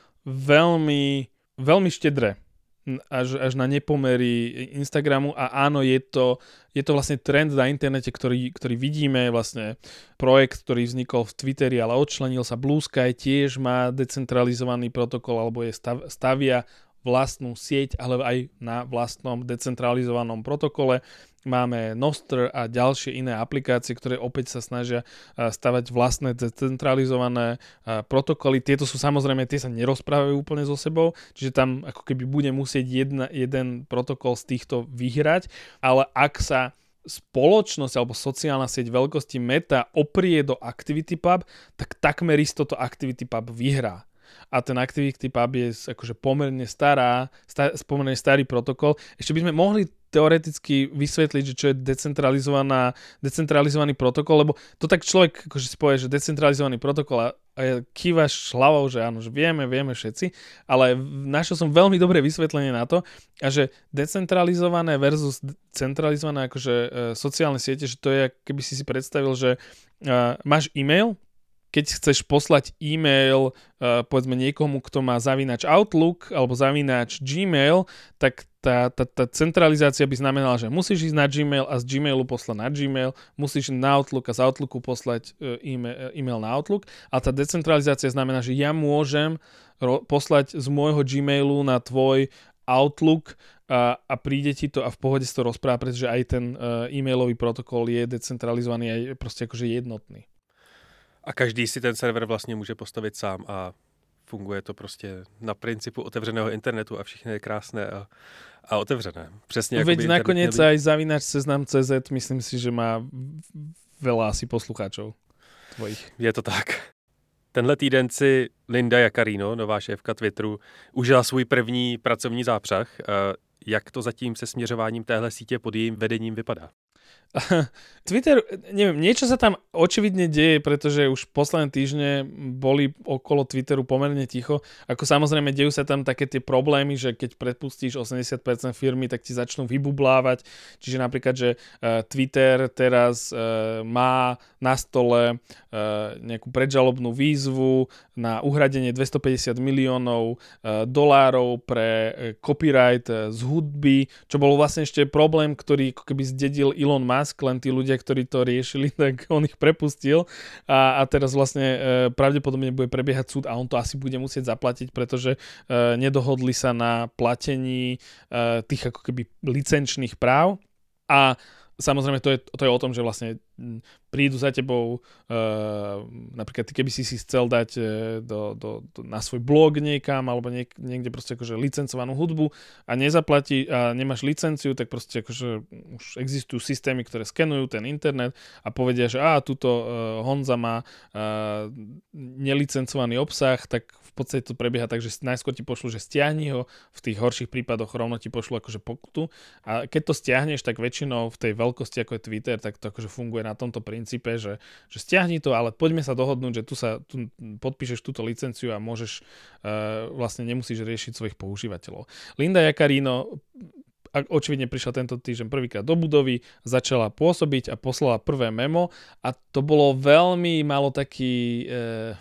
veľmi, veľmi štedré až, až na nepomery Instagramu a áno, je to, je to vlastne trend na internete, ktorý, ktorý vidíme, vlastne projekt, ktorý vznikol v Twitteri, ale odčlenil sa. Blue Sky tiež má decentralizovaný protokol alebo je stav, stavia vlastnú sieť, ale aj na vlastnom decentralizovanom protokole. Máme Nostr a ďalšie iné aplikácie, ktoré opäť sa snažia stavať vlastné decentralizované protokoly. Tieto sú samozrejme, tie sa nerozprávajú úplne so sebou, čiže tam ako keby bude musieť jedna, jeden protokol z týchto vyhrať, ale ak sa spoločnosť alebo sociálna sieť veľkosti Meta oprie do ActivityPub, tak takmer isto to ActivityPub vyhrá. A ten ActivityPub je akože pomerne stará, star, pomerne starý protokol. Ešte by sme mohli teoreticky vysvetliť, že čo je decentralizovaná, decentralizovaný protokol, lebo to tak človek akože si povie, že decentralizovaný protokol a, a kývaš hlavou, že áno, že vieme, vieme všetci, ale našiel som veľmi dobré vysvetlenie na to, a že decentralizované versus centralizované akože e, sociálne siete, že to je, keby si si predstavil, že e, máš e-mail, keď chceš poslať e-mail uh, povedzme niekomu, kto má zavínač Outlook alebo zavínač Gmail, tak tá, tá, tá centralizácia by znamenala, že musíš ísť na Gmail a z Gmailu poslať na Gmail, musíš na Outlook a z Outlooku poslať e-mail, e-mail na Outlook, a tá decentralizácia znamená, že ja môžem ro- poslať z môjho Gmailu na tvoj Outlook a, a príde ti to a v pohode si to rozpráva, pretože aj ten uh, e-mailový protokol je decentralizovaný a je proste akože jednotný. A každý si ten server vlastně může postavit sám a funguje to prostě na principu otevřeného internetu a všechno je krásné a, a otevřené. Přesně jako Veď nakoniec aj zavináč seznam tečka cé zet, myslím si, že má veľa asi poslucháčov tvojich. Je to tak. Tenhle týden si Linda Yaccarino, nová šéfka Twitteru, užila svůj první pracovní zápřah. Jak to zatím se směřováním téhle sítě pod jejím vedením vypadá? Twitter, neviem, niečo sa tam očividne deje, pretože už posledné týždne boli okolo Twitteru pomerne ticho. Ako samozrejme, dejú sa tam také tie problémy, že keď prepustíš osemdesiat percent firmy, tak ti začnú vybublávať. Čiže napríklad, že uh, Twitter teraz uh, má na stole uh, nejakú predžalobnú výzvu na uhradenie dvestopäťdesiat miliónov uh, dolárov pre uh, copyright uh, z hudby, čo bol vlastne ešte problém, ktorý ako keby zdedil Elon Musk, len tí ľudia, ktorí to riešili, tak on ich prepustil a, a teraz vlastne e, pravdepodobne bude prebiehať súd a on to asi bude musieť zaplatiť, pretože e, nedohodli sa na platení e, tých ako keby licenčných práv. A samozrejme to je, to je o tom, že vlastne prídu za tebou, uh, napríklad ty keby si si chcel dať uh, do, do, do, na svoj blog niekam alebo niek, niekde proste akože licencovanú hudbu a nezaplatí a nemáš licenciu, tak proste akože už existujú systémy, ktoré skenujú ten internet a povedia, že á, tuto uh, Honza má uh, nelicencovaný obsah, tak v podstate to prebieha tak, že najskôr ti pošlu, že stiahni ho, v tých horších prípadoch rovno ti pošlu akože pokutu a keď to stiahneš, tak väčšinou v tej veľkosti ako je Twitter, tak to akože funguje na tomto princípe, že, že stiahni to, ale poďme sa dohodnúť, že tu sa tu podpíšeš túto licenciu a môžeš uh, vlastne nemusíš riešiť svojich používateľov. Linda Yaccarino očividne prišla tento týždeň prvýkrát do budovy, začala pôsobiť a poslala prvé memo a to bolo veľmi malo taký uh,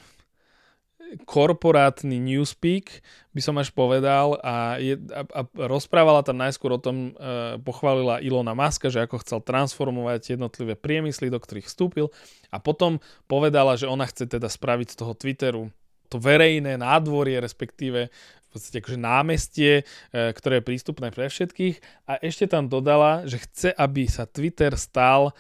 korporátny newspeak, by som až povedal a, je, a, a rozprávala tam najskôr o tom, e, pochválila Elona Muska, že ako chcel transformovať jednotlivé priemysly, do ktorých vstúpil a potom povedala, že ona chce teda spraviť z toho Twitteru to verejné nádvorie, respektíve v podstate akože námestie, e, ktoré je prístupné pre všetkých a ešte tam dodala, že chce, aby sa Twitter stal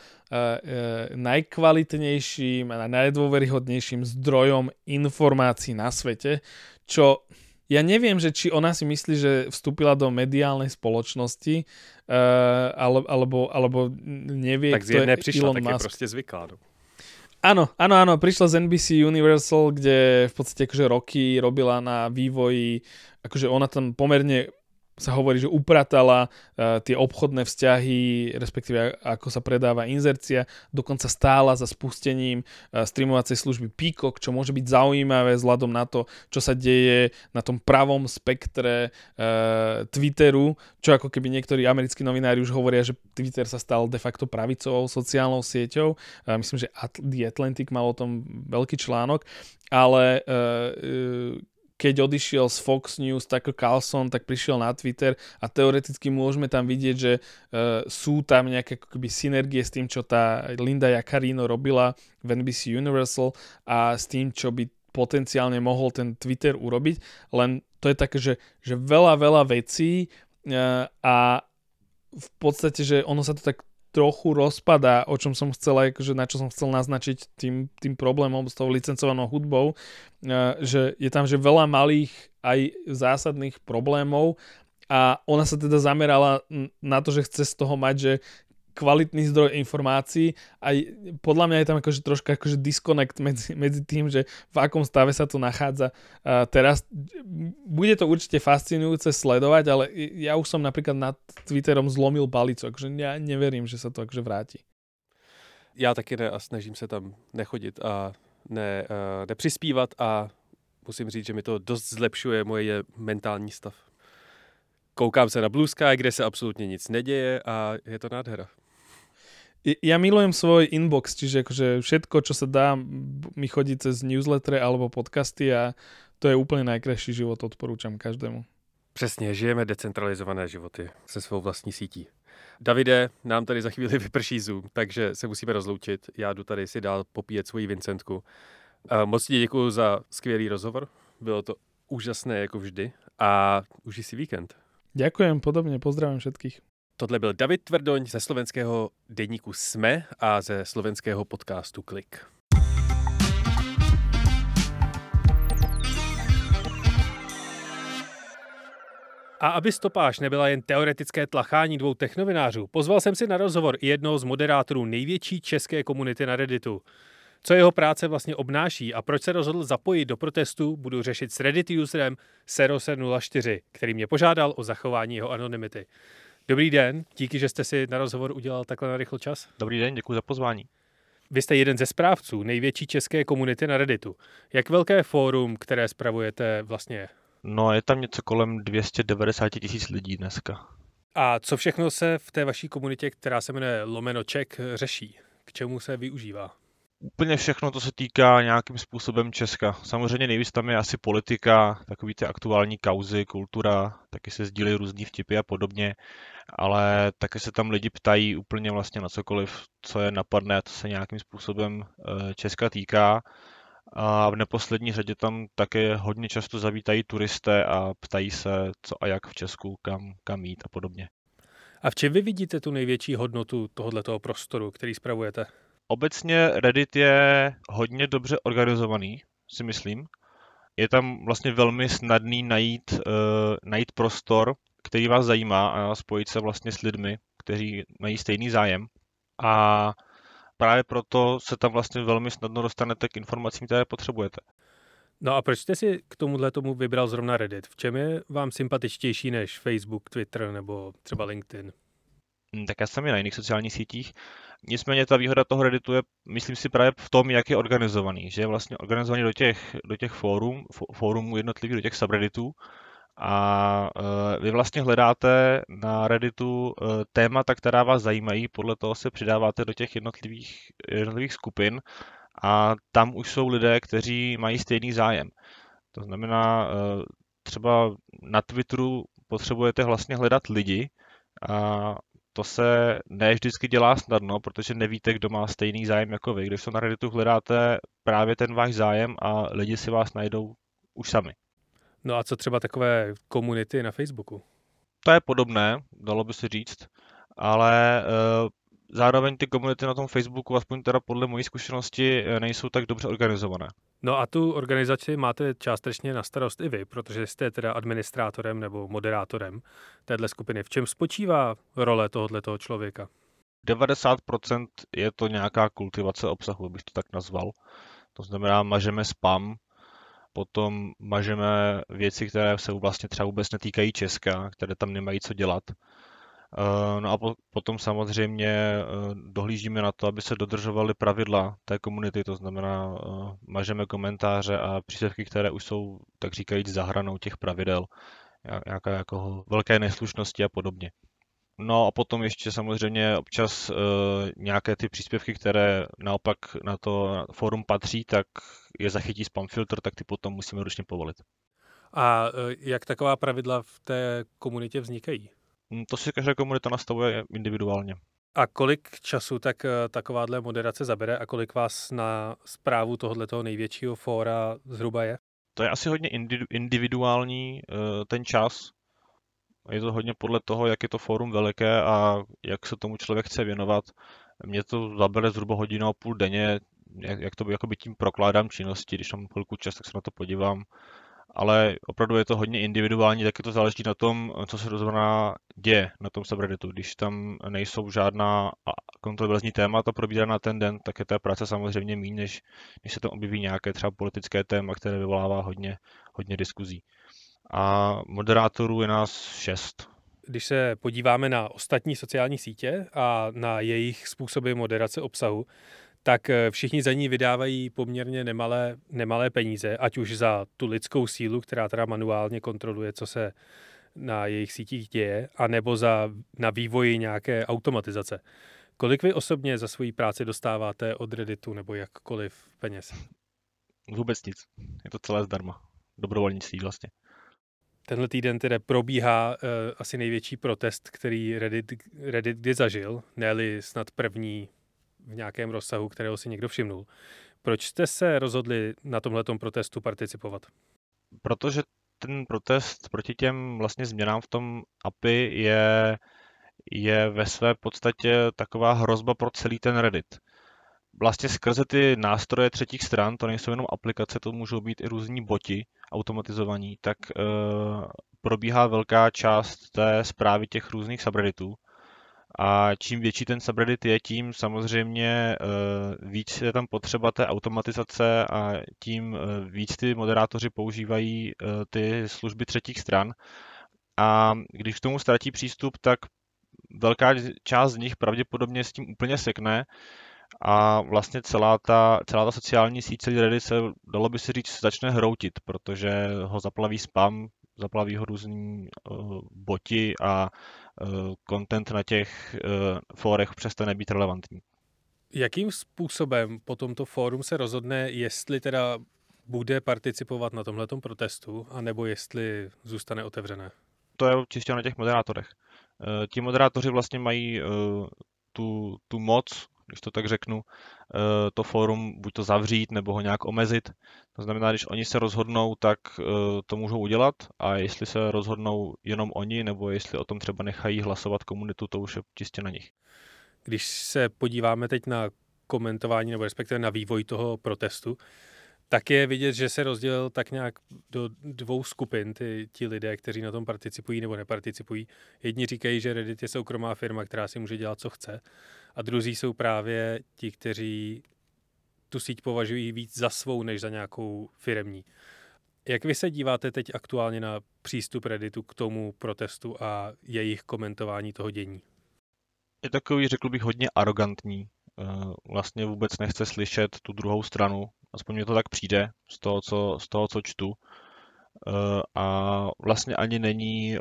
najkvalitnejším a najdôveryhodnejším zdrojom informácií na svete, čo ja neviem, že či ona si myslí, že vstúpila do mediálnej spoločnosti, uh, alebo, alebo nevie, tak kto je neprišla, Elon tak Musk. je proste zvyklá. No. Áno, áno, áno, prišla z en bí sí Universal, kde v podstate akože roky robila na vývoji, akože ona tam pomerne sa hovorí, že upratala uh, tie obchodné vzťahy, respektíve ako sa predáva inzercia, dokonca stála za spustením uh, streamovacej služby Peacock, čo môže byť zaujímavé vzhľadom na to, čo sa deje na tom pravom spektre uh, Twitteru, čo ako keby niektorí americkí novinári už hovoria, že Twitter sa stal de facto pravicovou sociálnou sieťou. Uh, myslím, že The Atlantic mal o tom veľký článok, ale uh, uh, keď odišiel z Fox News Tucker Carlson, tak prišiel na Twitter a teoreticky môžeme tam vidieť, že uh, sú tam nejaké akoby synergie s tým, čo tá Linda Yaccarino robila v en bí sí Universal a s tým, čo by potenciálne mohol ten Twitter urobiť. Len to je také, že, že veľa, veľa vecí uh, a v podstate, že ono sa to tak trochu rozpadá, o čom som chcel, akože na čo som chcel naznačiť tým, tým problémom s tou licencovanou hudbou, že je tam že veľa malých aj zásadných problémov a ona sa teda zamerala na to, že chce z toho mať, že kvalitný zdroj informácií a podľa mňa je tam akože troška akože disconnect medzi, medzi tým, že v akom stave sa to nachádza uh, teraz. Bude to určite fascinujúce sledovať, ale ja už som napríklad nad Twitterom zlomil palicu, akože ja neverím, že sa to akože vráti. Já taky ne a snažím se tam nechodit a ne, uh, nepřispívat a musím říct, že mi to dost zlepšuje moje mentální stav. Koukám se na Blue Sky, kde se absolutně nic neděje a je to nádhera. Ja milujem svoj inbox, čiže akože všetko, čo sa dá, mi chodí cez newslettere alebo podcasty a to je úplne najkrajší život, odporúčam každému. Přesně, žijeme decentralizované životy se svou vlastní sítí. Davide, nám tady za chvíli vyprší Zoom, takže se musíme rozloučit. Já jdu tady si dál popíjet svoji Vincentku. Moc ti děkuju za skvělý rozhovor. Bylo to úžasné jako vždy a užij si víkend. Ďakujem, podobne, pozdravím všetkých. Tohle byl David Tvrdoň ze slovenského deníku Sme a ze slovenského podcastu Klik. A aby stopáž nebyla jen teoretické tlachání dvou technovinářů, pozval jsem si na rozhovor i jednoho z moderátorů největší české komunity na Redditu. Co jeho práce vlastně obnáší a proč se rozhodl zapojit do protestu, budu řešit s Reddit userem Seroser nula čtyři, který mě požádal o zachování jeho anonymity. Dobrý den, díky, že jste si na rozhovor udělal takhle na rychlo čas. Dobrý den, děkuji za pozvání. Vy jste jeden ze správců největší české komunity na Redditu. Jak velké fórum, které spravujete, vlastně je? No, je tam něco kolem dvě stě devadesát tisíc lidí dneska. A co všechno se v té vaší komunitě, která se jmenuje Lomenoček, řeší? K čemu se využívá? Úplně všechno, to se týká nějakým způsobem Česka. Samozřejmě nejvíc tam je asi politika, takový ty aktuální kauzy, kultura, taky se sdílejí různý vtipy a podobně, ale taky se tam lidi ptají úplně vlastně na cokoliv, co je napadne a to se nějakým způsobem Česka týká. A v neposlední řadě tam také hodně často zavítají turisté a ptají se, co a jak v Česku, kam, kam jít a podobně. A v čem vy vidíte tu největší hodnotu tohoto prostoru, který spravujete? Obecně Reddit je hodně dobře organizovaný, si myslím. Je tam vlastně velmi snadný najít, uh, najít prostor, který vás zajímá a spojit se vlastně s lidmi, kteří mají stejný zájem. A právě proto se tam vlastně velmi snadno dostanete k informacím, které potřebujete. No a proč jste si k tomuhle tomu vybral zrovna Reddit? V čem je vám sympatičtější než Facebook, Twitter nebo třeba LinkedIn? Tak já jsem i na jiných sociálních sítích. Nicméně ta výhoda toho Redditu je, myslím si, právě v tom, jak je organizovaný. Že je vlastně organizovaný do těch, do těch fórum, fórumů jednotlivých, do těch subredditů. A vy vlastně hledáte na Redditu témata, která vás zajímají, podle toho se přidáváte do těch jednotlivých, jednotlivých skupin a tam už jsou lidé, kteří mají stejný zájem. To znamená, třeba na Twitteru potřebujete vlastně hledat lidi a to se ne vždycky dělá snadno, protože nevíte, kdo má stejný zájem jako vy. Když to na Redditu hledáte právě ten váš zájem a lidi si vás najdou už sami. No a co třeba takové komunity na Facebooku? To je podobné, dalo by se říct, ale e, zároveň ty komunity na tom Facebooku, aspoň teda podle mojí zkušenosti, nejsou tak dobře organizované. No a tu organizaci máte částečně na starost i vy, protože jste teda administrátorem nebo moderátorem téhle skupiny. V čem spočívá role tohoto člověka? devadesát procent je to nějaká kultivace obsahu, bych to tak nazval. To znamená, mažeme spam, potom mažeme věci, které se vlastně třeba vůbec netýkají Česka, které tam nemají co dělat. No a potom samozřejmě dohlížíme na to, aby se dodržovaly pravidla té komunity, to znamená, mažeme komentáře a příspěvky, které už jsou, tak říkajíc, za hranou těch pravidel, nějaké jako velké neslušnosti a podobně. No a potom ještě samozřejmě občas uh, nějaké ty příspěvky, které naopak na to fórum patří, tak je zachytí spam filtr, tak ty potom musíme ručně povolit. A uh, jak taková pravidla v té komunitě vznikají? To si každá komunita nastavuje individuálně. A kolik času tak uh, takováhle moderace zabere a kolik vás na správu tohoto největšího fóra zhruba je? To je asi hodně individuální uh, ten čas. Je to hodně podle toho, jak je to fórum veliké a jak se tomu člověk chce věnovat. Mně to zabere zhruba hodinu a půl denně, jak, jak to jakoby tím prokládám činnosti, když mám chvilku čas, tak se na to podívám. Ale opravdu je to hodně individuální, taky to záleží na tom, co se rozhodná děje na tom subredditu. Když tam nejsou žádná kontroverzní témata probíraná ten den, tak je té práce samozřejmě méně, než, než se tam objeví nějaké třeba politické téma, které vyvolává hodně, hodně diskuzí. A moderátorů je nás šest. Když se podíváme na ostatní sociální sítě a na jejich způsoby moderace obsahu, tak všichni za ní vydávají poměrně nemalé, nemalé peníze, ať už za tu lidskou sílu, která teda manuálně kontroluje, co se na jejich sítích děje, anebo za, na vývoji nějaké automatizace. Kolik vy osobně za svoji práci dostáváte od Redditu nebo jakkoliv peněz? Vůbec nic. Je to celé zdarma. Dobrovolnictví vlastně. Tenhle týden teda probíhá uh, asi největší protest, který Reddit, Reddit kdy zažil, ne-li snad první v nějakém rozsahu, kterého si někdo všimnul. Proč jste se rozhodli na tomhletom protestu participovat? Protože ten protest proti těm vlastně změnám v tom A P I je, je ve své podstatě taková hrozba pro celý ten Reddit. Vlastně skrze ty nástroje třetích stran, to nejsou jenom aplikace, to můžou být i různí boti automatizovaní, tak e, probíhá velká část té správy těch různých subredditů. A čím větší ten subreddit je, tím samozřejmě e, víc je tam potřeba té automatizace a tím e, víc ty moderátoři používají e, ty služby třetích stran. A když k tomu ztratí přístup, tak velká část z nich pravděpodobně s tím úplně sekne. A vlastně celá ta, celá ta sociální síť, celý Reddit se, dalo by se říct, začne hroutit, protože ho zaplaví spam, zaplaví ho různý uh, boti a uh, content na těch uh, fórech přestane být relevantní. Jakým způsobem po tomto fórum se rozhodne, jestli teda bude participovat na tomhletom protestu, anebo jestli zůstane otevřené? To je čistě na těch moderátorech. Uh, ti moderátoři vlastně mají uh, tu, tu moc, když to tak řeknu, to fórum buď to zavřít, nebo ho nějak omezit. To znamená, když oni se rozhodnou, tak to můžou udělat a jestli se rozhodnou jenom oni, nebo jestli o tom třeba nechají hlasovat komunitu, to už je čistě na nich. Když se podíváme teď na komentování, nebo respektive na vývoj toho protestu, tak je vidět, že se rozdělil tak nějak do dvou skupin, ty, ti lidé, kteří na tom participují nebo neparticipují. Jedni říkají, že Reddit je soukromá firma, která si může dělat, co chce. A druzí jsou právě ti, kteří tu síť považují víc za svou, než za nějakou firemní. Jak vy se díváte teď aktuálně na přístup Redditu k tomu protestu a jejich komentování toho dění? Je takový, řekl bych, hodně arrogantní. Vlastně vůbec nechce slyšet tu druhou stranu. Aspoň mi to tak přijde z toho, co, z toho, co čtu. A vlastně ani není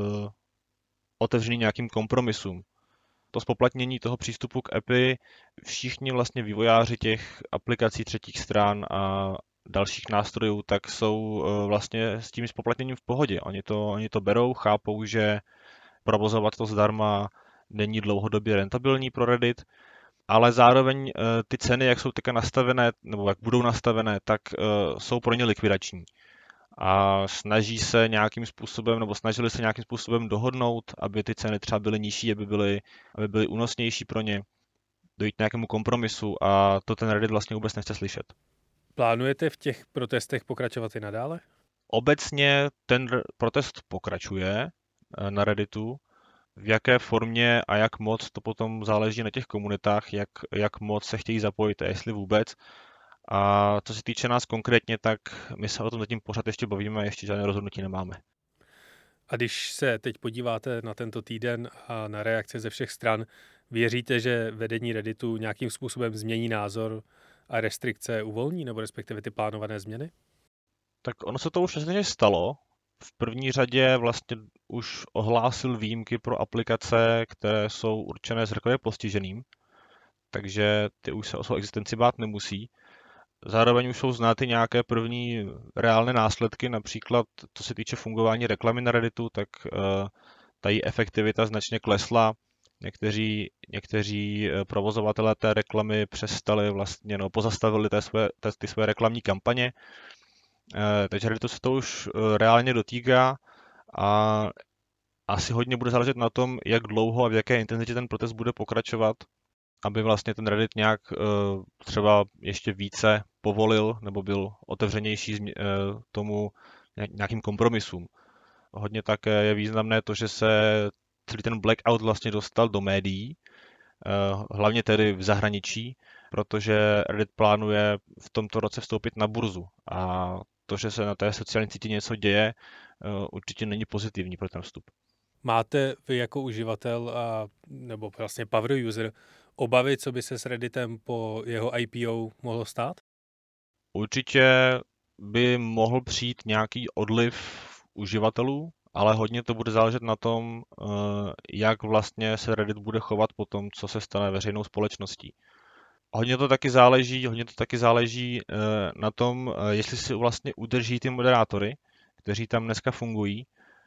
otevřený nějakým kompromisům. To zpoplatnění toho přístupu k A P I, všichni vlastně vývojáři těch aplikací třetích stran a dalších nástrojů, tak jsou vlastně s tím zpoplatněním v pohodě. Oni to, oni to berou, chápou, že provozovat to zdarma není dlouhodobě rentabilní pro Reddit, ale zároveň ty ceny, jak jsou teďka nastavené, nebo jak budou nastavené, tak jsou pro ně likvidační. A snaží se nějakým způsobem, nebo snažili se nějakým způsobem dohodnout, aby ty ceny třeba byly nižší, aby byly, aby byly únosnější pro ně, dojít k nějakému kompromisu a to ten Reddit vlastně vůbec nechce slyšet. Plánujete v těch protestech pokračovat i nadále? Obecně ten protest pokračuje na Redditu. V jaké formě a jak moc, to potom záleží na těch komunitách, jak, jak moc se chtějí zapojit a jestli vůbec. A co se týče nás konkrétně, tak my se o tom zatím pořád ještě bavíme a ještě žádné rozhodnutí nemáme. A když se teď podíváte na tento týden a na reakce ze všech stran, věříte, že vedení Redditu nějakým způsobem změní názor a restrikce uvolní, nebo respektive ty plánované změny? Tak ono se to už vlastně stalo. V první řadě vlastně už ohlásil výjimky pro aplikace, které jsou určené zrakově postiženým, takže ty už se o svou existenci bát nemusí. Zároveň už jsou znáty nějaké první reálné následky, například co se týče fungování reklamy na Redditu, tak ta její efektivita značně klesla. Někteří, někteří provozovatelé té reklamy přestali vlastně, no, pozastavili té své, té, ty své reklamní kampaně. Takže Redditu se to už reálně dotýká a asi hodně bude záležet na tom, jak dlouho a v jaké intenzitě ten protest bude pokračovat, aby vlastně ten Reddit nějak třeba ještě více povolil nebo byl otevřenější tomu nějakým kompromisům. Hodně také je významné to, že se celý ten blackout vlastně dostal do médií, hlavně tedy v zahraničí, protože Reddit plánuje v tomto roce vstoupit na burzu a to, že se na té sociální síti něco děje, určitě není pozitivní pro ten vstup. Máte vy jako uživatel a, nebo vlastně power user obavy, co by se s Redditem po jeho I P O mohlo stát? Určitě by mohl přijít nějaký odliv uživatelů, ale hodně to bude záležet na tom, jak vlastně se Reddit bude chovat po tom, co se stane veřejnou společností. Hodně to taky záleží, hodně to taky záleží na tom, jestli si vlastně udrží ty moderátory, kteří tam dneska fungují,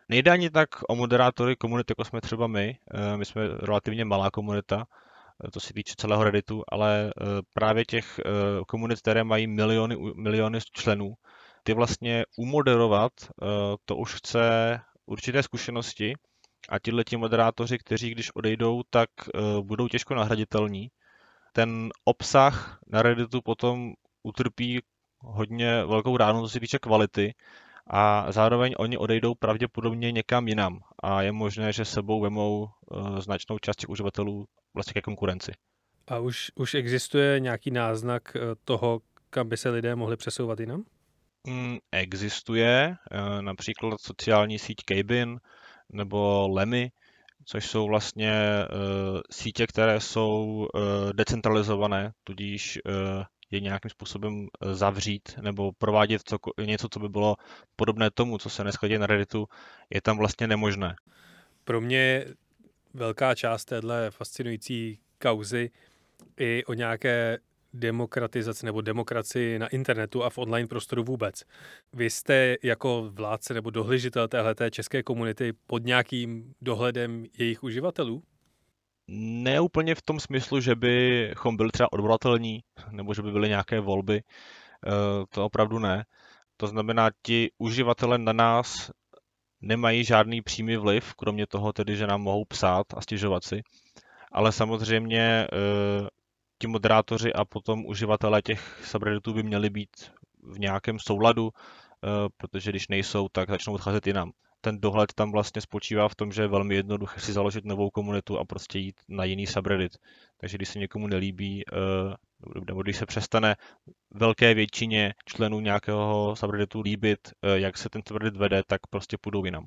Nejde ani tak o moderátory komunity, jako jsme třeba my. My jsme relativně malá komunita, to se týče celého Redditu, ale právě těch komunit, které mají miliony, miliony členů, ty vlastně umoderovat, to už chce určité zkušenosti a tihleti moderátoři, kteří když odejdou, tak budou těžko nahraditelní. Ten obsah na Redditu potom utrpí hodně velkou ránu, co se týče kvality, a zároveň oni odejdou pravděpodobně někam jinam a je možné, že sebou vemou uh, značnou část těch uživatelů vlastně ke konkurenci. A už, už existuje nějaký náznak toho, kam by se lidé mohli přesouvat jinam? Mm, existuje uh, například sociální síť Cabin nebo Lemmy, což jsou vlastně uh, sítě, které jsou uh, decentralizované, tudíž uh, je nějakým způsobem zavřít nebo provádět co, něco, co by bylo podobné tomu, co se dneska děje na Redditu, je tam vlastně nemožné. Pro mě je velká část téhle fascinující kauzy i o nějaké demokratizaci nebo demokracii na internetu a v online prostoru vůbec. Vy jste jako vládce nebo dohlížitel téhleté české komunity pod nějakým dohledem jejich uživatelů? Ne úplně v tom smyslu, že bychom byli třeba odvolatelní, nebo že by byly nějaké volby, to opravdu ne. To znamená, ti uživatelé na nás nemají žádný přímý vliv, kromě toho tedy, že nám mohou psát a stěžovat si. Ale samozřejmě ti moderátoři a potom uživatelé těch subredditů by měli být v nějakém souladu, protože když nejsou, tak začnou odcházet jinam. Ten dohled tam vlastně spočívá v tom, že je velmi jednoduché si založit novou komunitu a prostě jít na jiný subreddit. Takže když se někomu nelíbí, nebo když se přestane velké většině členů nějakého subredditu líbit, jak se ten subreddit vede, tak prostě půjdou jinam.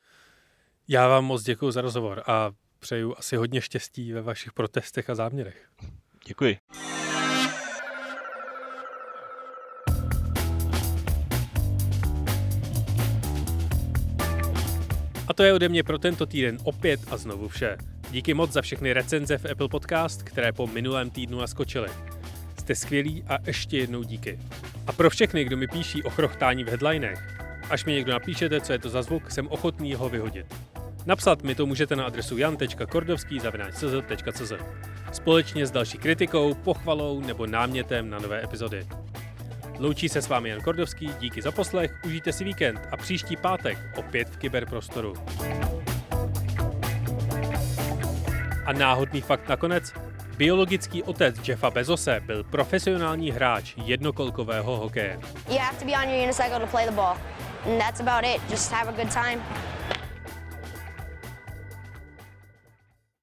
Já vám moc děkuji za rozhovor a přeju asi hodně štěstí ve vašich protestech a záměrech. Děkuji. A to je ode mě pro tento týden opět a znovu vše. Díky moc za všechny recenze v Apple Podcast, které po minulém týdnu naskočily. Jste skvělí a ještě jednou díky. A pro všechny, kdo mi píší o chrochtání v headlinech, až mi někdo napíšete, co je to za zvuk, jsem ochotný ho vyhodit. Napsat mi to můžete na adresu jan tečka kordovský zavináč c z tečka c z společně s další kritikou, pochvalou nebo námětem na nové epizody. Loučí se s vámi Jan Kordovský, díky za poslech, užijte si víkend a příští pátek opět v kyberprostoru. A náhodný fakt nakonec. Biologický otec Jeffa Bezose byl profesionální hráč jednokolkového hokeje. You have to be on your unicycle to play the ball. And that's about it. Just have a good time.